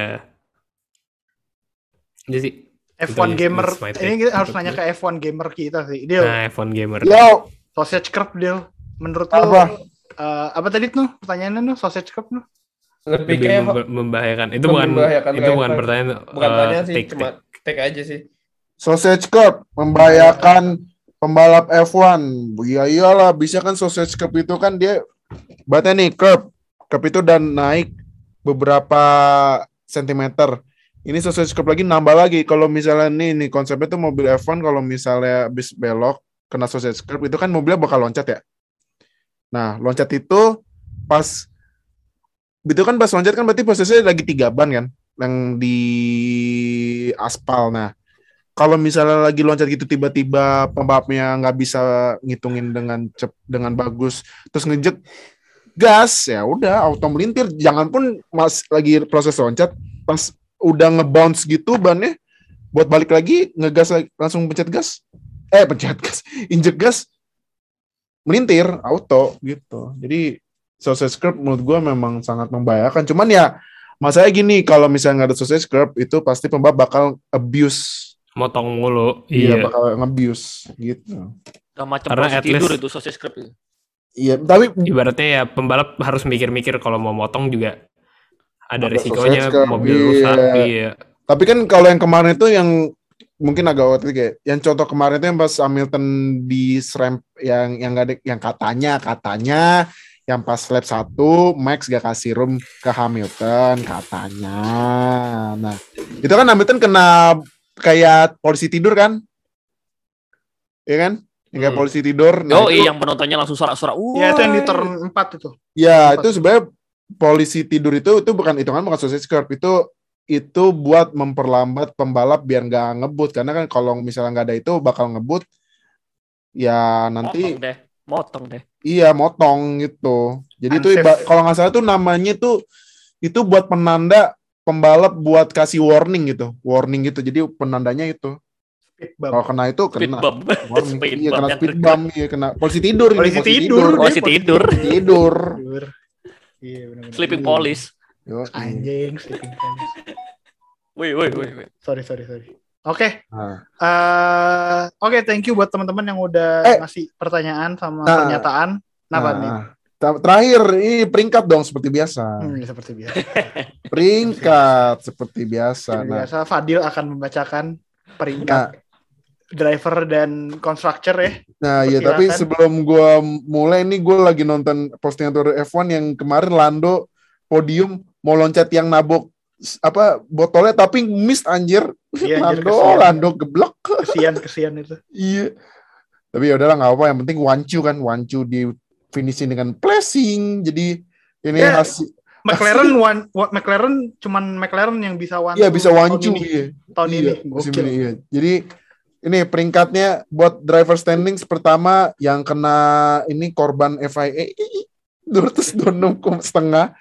jadi sih F itu satu aja, gamer that's my take. ini kita harus Untuk nanya gue. ke F satu gamer kita sih. Deal, Nah, F satu gamer. Yo, sausage curve deal. Menurut Apa? lo eh, apa tadi tuh pertanyaannya tuh sausage curve tuh? Lebih Lebih kayak memba- membahayakan. Itu lebih bukan membahayakan itu bukan driver. pertanyaan bukan eh, tanya sih, take, cuma take. take aja sih. sausage curve membahayakan pembalap F satu. Ya iyalah, bisa kan sausage curve itu kan dia berarti nih curve. Curve itu dan naik beberapa sentimeter. Ini sausage curve lagi nambah lagi. Kalau misalnya nih nih konsepnya tuh mobil F satu kalau misalnya habis belok kena sausage curve itu kan mobilnya bakal loncat ya. Nah, loncat itu pas itu kan pas loncat kan berarti posisinya lagi tiga ban kan yang di aspal. Nah, kalau misalnya lagi loncat gitu tiba-tiba pembalapnya nggak bisa ngitungin dengan cep, dengan bagus terus ngejek gas ya udah auto melintir. Jangan pun mas lagi proses loncat pas udah ngebounce gitu bannya buat balik lagi ngegas lagi, langsung pencet gas eh pencet gas injek gas melintir auto gitu. Jadi sausage curve menurut gue memang sangat membahayakan. Cuman ya masalahnya gini, kalau misalnya nggak ada sausage curve itu pasti pembalap bakal abuse. Motong mulu. Iya, Iya. bakal nge-abuse gitu. Gak macam Karena posisi at tidur least- itu sausage curve itu. Iya, tapi Ibaratnya ya pembalap harus mikir-mikir kalau mau motong juga ada Ada resikonya sausage curve, mobil iya. rusak. Iya. tapi kan kalau yang kemarin itu yang mungkin agak waktu kayak yang contoh kemarin itu yang pas Hamilton di ramp yang yang nggak ada yang katanya katanya yang pas lap satu Max gak kasih room ke Hamilton katanya. Nah, itu kan Hamilton kena kayak polisi tidur kan? Iya kan? Yang kayak Hmm. polisi tidur. Nah, Yo, itu- yang penontonnya langsung sorak-sorak. Ya itu yang di turn empat itu. Ya, itu sebenarnya polisi tidur itu itu bukan hitungan bukan sausage curve, itu itu buat memperlambat pembalap biar nggak ngebut karena kan kalau misalnya nggak ada itu bakal ngebut ya nanti Motong deh, motong deh. iya motong gitu. Jadi itu Unsafe. iba- kalau nggak salah tuh namanya tuh itu buat penanda pembalap buat kasih warning gitu, warning gitu. Jadi penandanya itu Speed bump. kalau kena itu Speed kena bump. warning, Speed iya bump kena yang speed kena. bump, iya kena polisi tidur, ini, Polisi tidur. Polisi tidur. tidur. Tidur. Iya benar-benar. Sleeping police. Yo, Anjing sleeping police. Woi, woi, woi. woi. Sorry sorry sorry. Oke. Nah. Eh, Oke, thank you buat teman-teman yang udah Eh. ngasih pertanyaan sama Nah. pernyataan. Kenapa nih? Nah, ter- terakhir ini peringkat dong seperti biasa. Hmm, seperti biasa. Peringkat seperti biasa. Seperti Nah, biasa Fadil akan membacakan nah, peringkat driver dan constructor ya. nah ya Perkirakan. tapi sebelum gua mulai nih gue lagi nonton postingan Tour F satu yang kemarin Lando podium mau loncat yang nabok s- apa botolnya tapi miss anjir. Iya, anjir, Lando, kesian. Lando geblok. Kesian kesian itu. Iya. Tapi ya udahlah nggak apa, yang penting Wancu kan, Wancu di finishing dengan blessing. Jadi ini Ya, hasil McLaren one, one- McLaren cuman McLaren yang bisa one. iya bisa tahun Wancu ini. iya. Tahun Iya, ini. musim Gokil. ini, iya. Jadi ini peringkatnya buat driver standings pertama yang kena ini korban F I A dua ratus dua puluh enam setengah.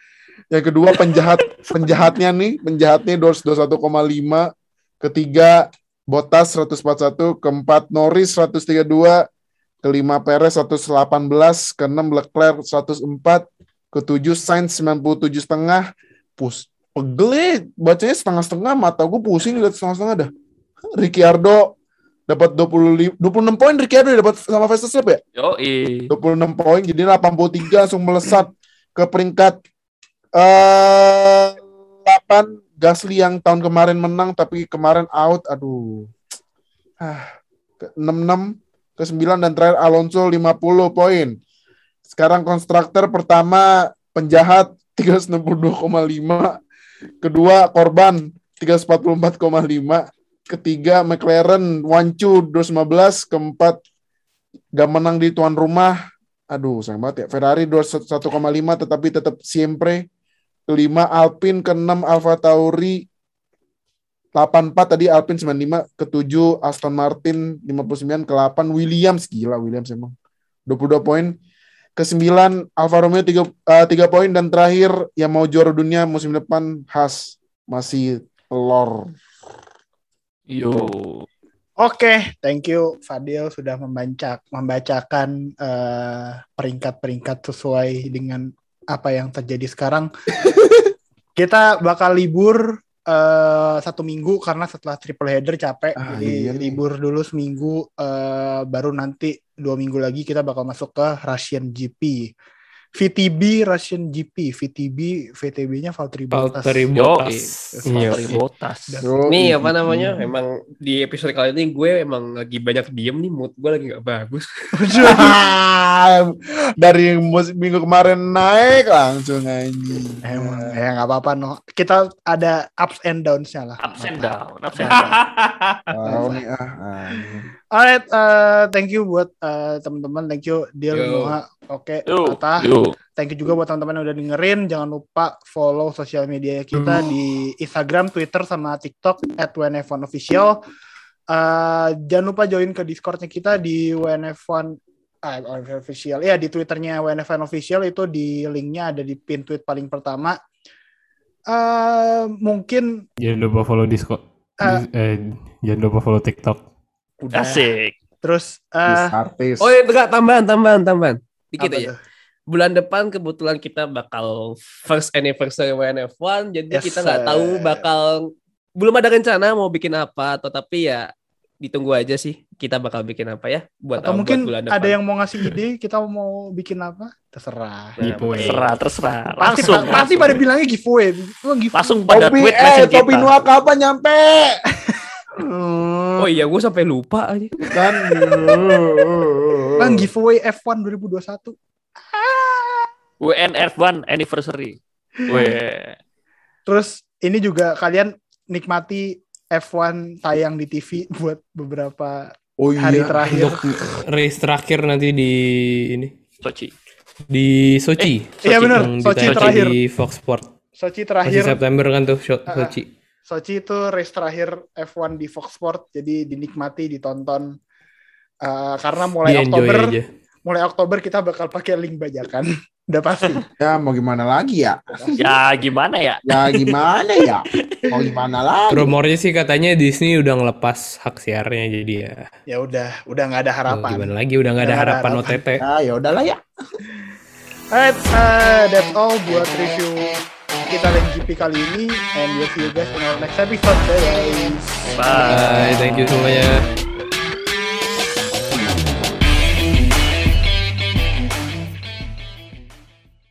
Yang kedua penjahat penjahatnya nih, penjahatnya dua ratus dua puluh satu koma lima. Ketiga Bottas seratus empat puluh satu, keempat Norris seratus tiga puluh dua, kelima Perez seratus delapan belas, keenam Leclerc seratus empat, ketujuh Sainz sembilan puluh tujuh setengah. Pus, pegel ya, bacanya setengah-setengah, mata gue pusing lihat setengah-setengah dah. Ricciardo dapat dua puluh lima, dua puluh enam poin Ricciardo dapat sama Verstappen ya? Yoi. dua puluh enam poin, jadi delapan puluh tiga langsung melesat ke peringkat eh delapan. Gasly yang tahun kemarin menang tapi kemarin out, aduh. Ah, ke enam puluh enam, ke sembilan dan terakhir Alonso lima puluh poin. Sekarang konstruktor pertama penjahat tiga ratus enam puluh dua koma lima, kedua korban tiga ratus empat puluh empat koma lima, ketiga McLaren Wancu dua ratus lima belas, keempat gak menang di tuan rumah. Aduh, sayang banget ya. Ferrari dua ratus satu koma lima tetapi tetap siempre. Kelima Alpine, keenam Alfa Tauri delapan puluh empat tadi Alpine sembilan puluh lima, ketujuh Aston Martin lima puluh sembilan, ke delapan Williams, gila Williams emang dua puluh dua poin, ke sembilan Alfa Romeo tiga, uh, tiga poin, dan terakhir yang mau juara dunia musim depan Haas masih telur. Yo. Oke, thank you Fadil sudah membancak, membacakan uh, peringkat-peringkat sesuai dengan apa yang terjadi sekarang. Kita bakal libur uh, satu minggu karena setelah triple header capek, Ah, jadi iya nih. libur dulu seminggu, uh, baru nanti dua minggu lagi kita bakal masuk ke Russian G P, V T B Russian G P, V T B V T B-nya Valtteri Bottas. Valtteri Yoi. Bottas. Iya. Valtteri Bottas. Yo, Nih i- apa namanya? Emang di episode kali ini gue emang lagi banyak diem nih, mood gue lagi gak bagus. dari mus- minggu kemarin naik langsung anjing. Emang ya nggak apa-apa no. Kita ada ups and downs-nya lah. Ups and down, ups and down. Tahu nih ah. anjing. Alright, uh, thank you buat uh, teman-teman, thank you Dil, Yo. Noah, oke, Yo, Tata. yo. Thank you juga buat teman-teman yang udah dengerin. Jangan lupa follow sosial media kita di Instagram, Twitter, sama TikTok at W N F one Official. Uh, jangan lupa join ke Discord-nya kita di W N F one ah, W N F one Official. Ya, di Twitternya W N F one Official itu di linknya ada di pin tweet paling pertama. Uh, mungkin Jangan lupa follow Discord. Ah. Eh, jangan lupa follow TikTok. udah. Asik. Terus uh, Artis. Oh iya, enggak, tambahan, tambahan, tambahan. Dikit apa aja. tuh? Bulan depan kebetulan kita bakal first anniversary W N F one, jadi Yes, kita nggak sir. tahu bakal, belum ada rencana mau bikin apa, atau tapi ya ditunggu aja sih kita bakal bikin apa ya buat Atau buat mungkin bulan depan. ada yang mau ngasih ide, kita mau bikin apa? Terserah. Nah, Giveaway. Terserah, terserah. Pasti, Langsung. pasti pada bilangnya giveaway. Oh, giveaway. Langsung pada Topi tweet eh message topi kita. Noah kapan nyampe? Hmm, Oh iya, gue sampai lupa aja. kan. Bang, giveaway F one dua ribu dua puluh satu. W N F one anniversary. Weh. Terus ini juga kalian nikmati F one tayang di T V buat beberapa Oh iya. hari terakhir. Untuk race terakhir nanti di ini Sochi. di Sochi. Iya benar, Yang Sochi ditayangkan terakhir. di Fox Sport. Sochi Masih terakhir. September kan tuh Sho- Ah, ah. Sochi. Sochi itu race terakhir F one di Fox Sport, jadi dinikmati, ditonton. Uh, karena mulai Di enjoy Oktober, aja. mulai Oktober kita bakal pakai link bajakan. Udah pasti. Ya mau gimana lagi ya? Ya gimana ya? Ya gimana ya? Mau gimana lagi? Rumornya sih katanya Disney udah ngelepas hak siarnya, jadi ya Ya udah, udah nggak ada mau harapan. gimana lagi, udah nggak ada Udah nggak ada harapan O T T. Ya ya udahlah ya. Alright, uh, that's all buat review kita dan G P kali ini, and we'll see you guys in our next episode, guys. Bye. Bye, thank you semuanya.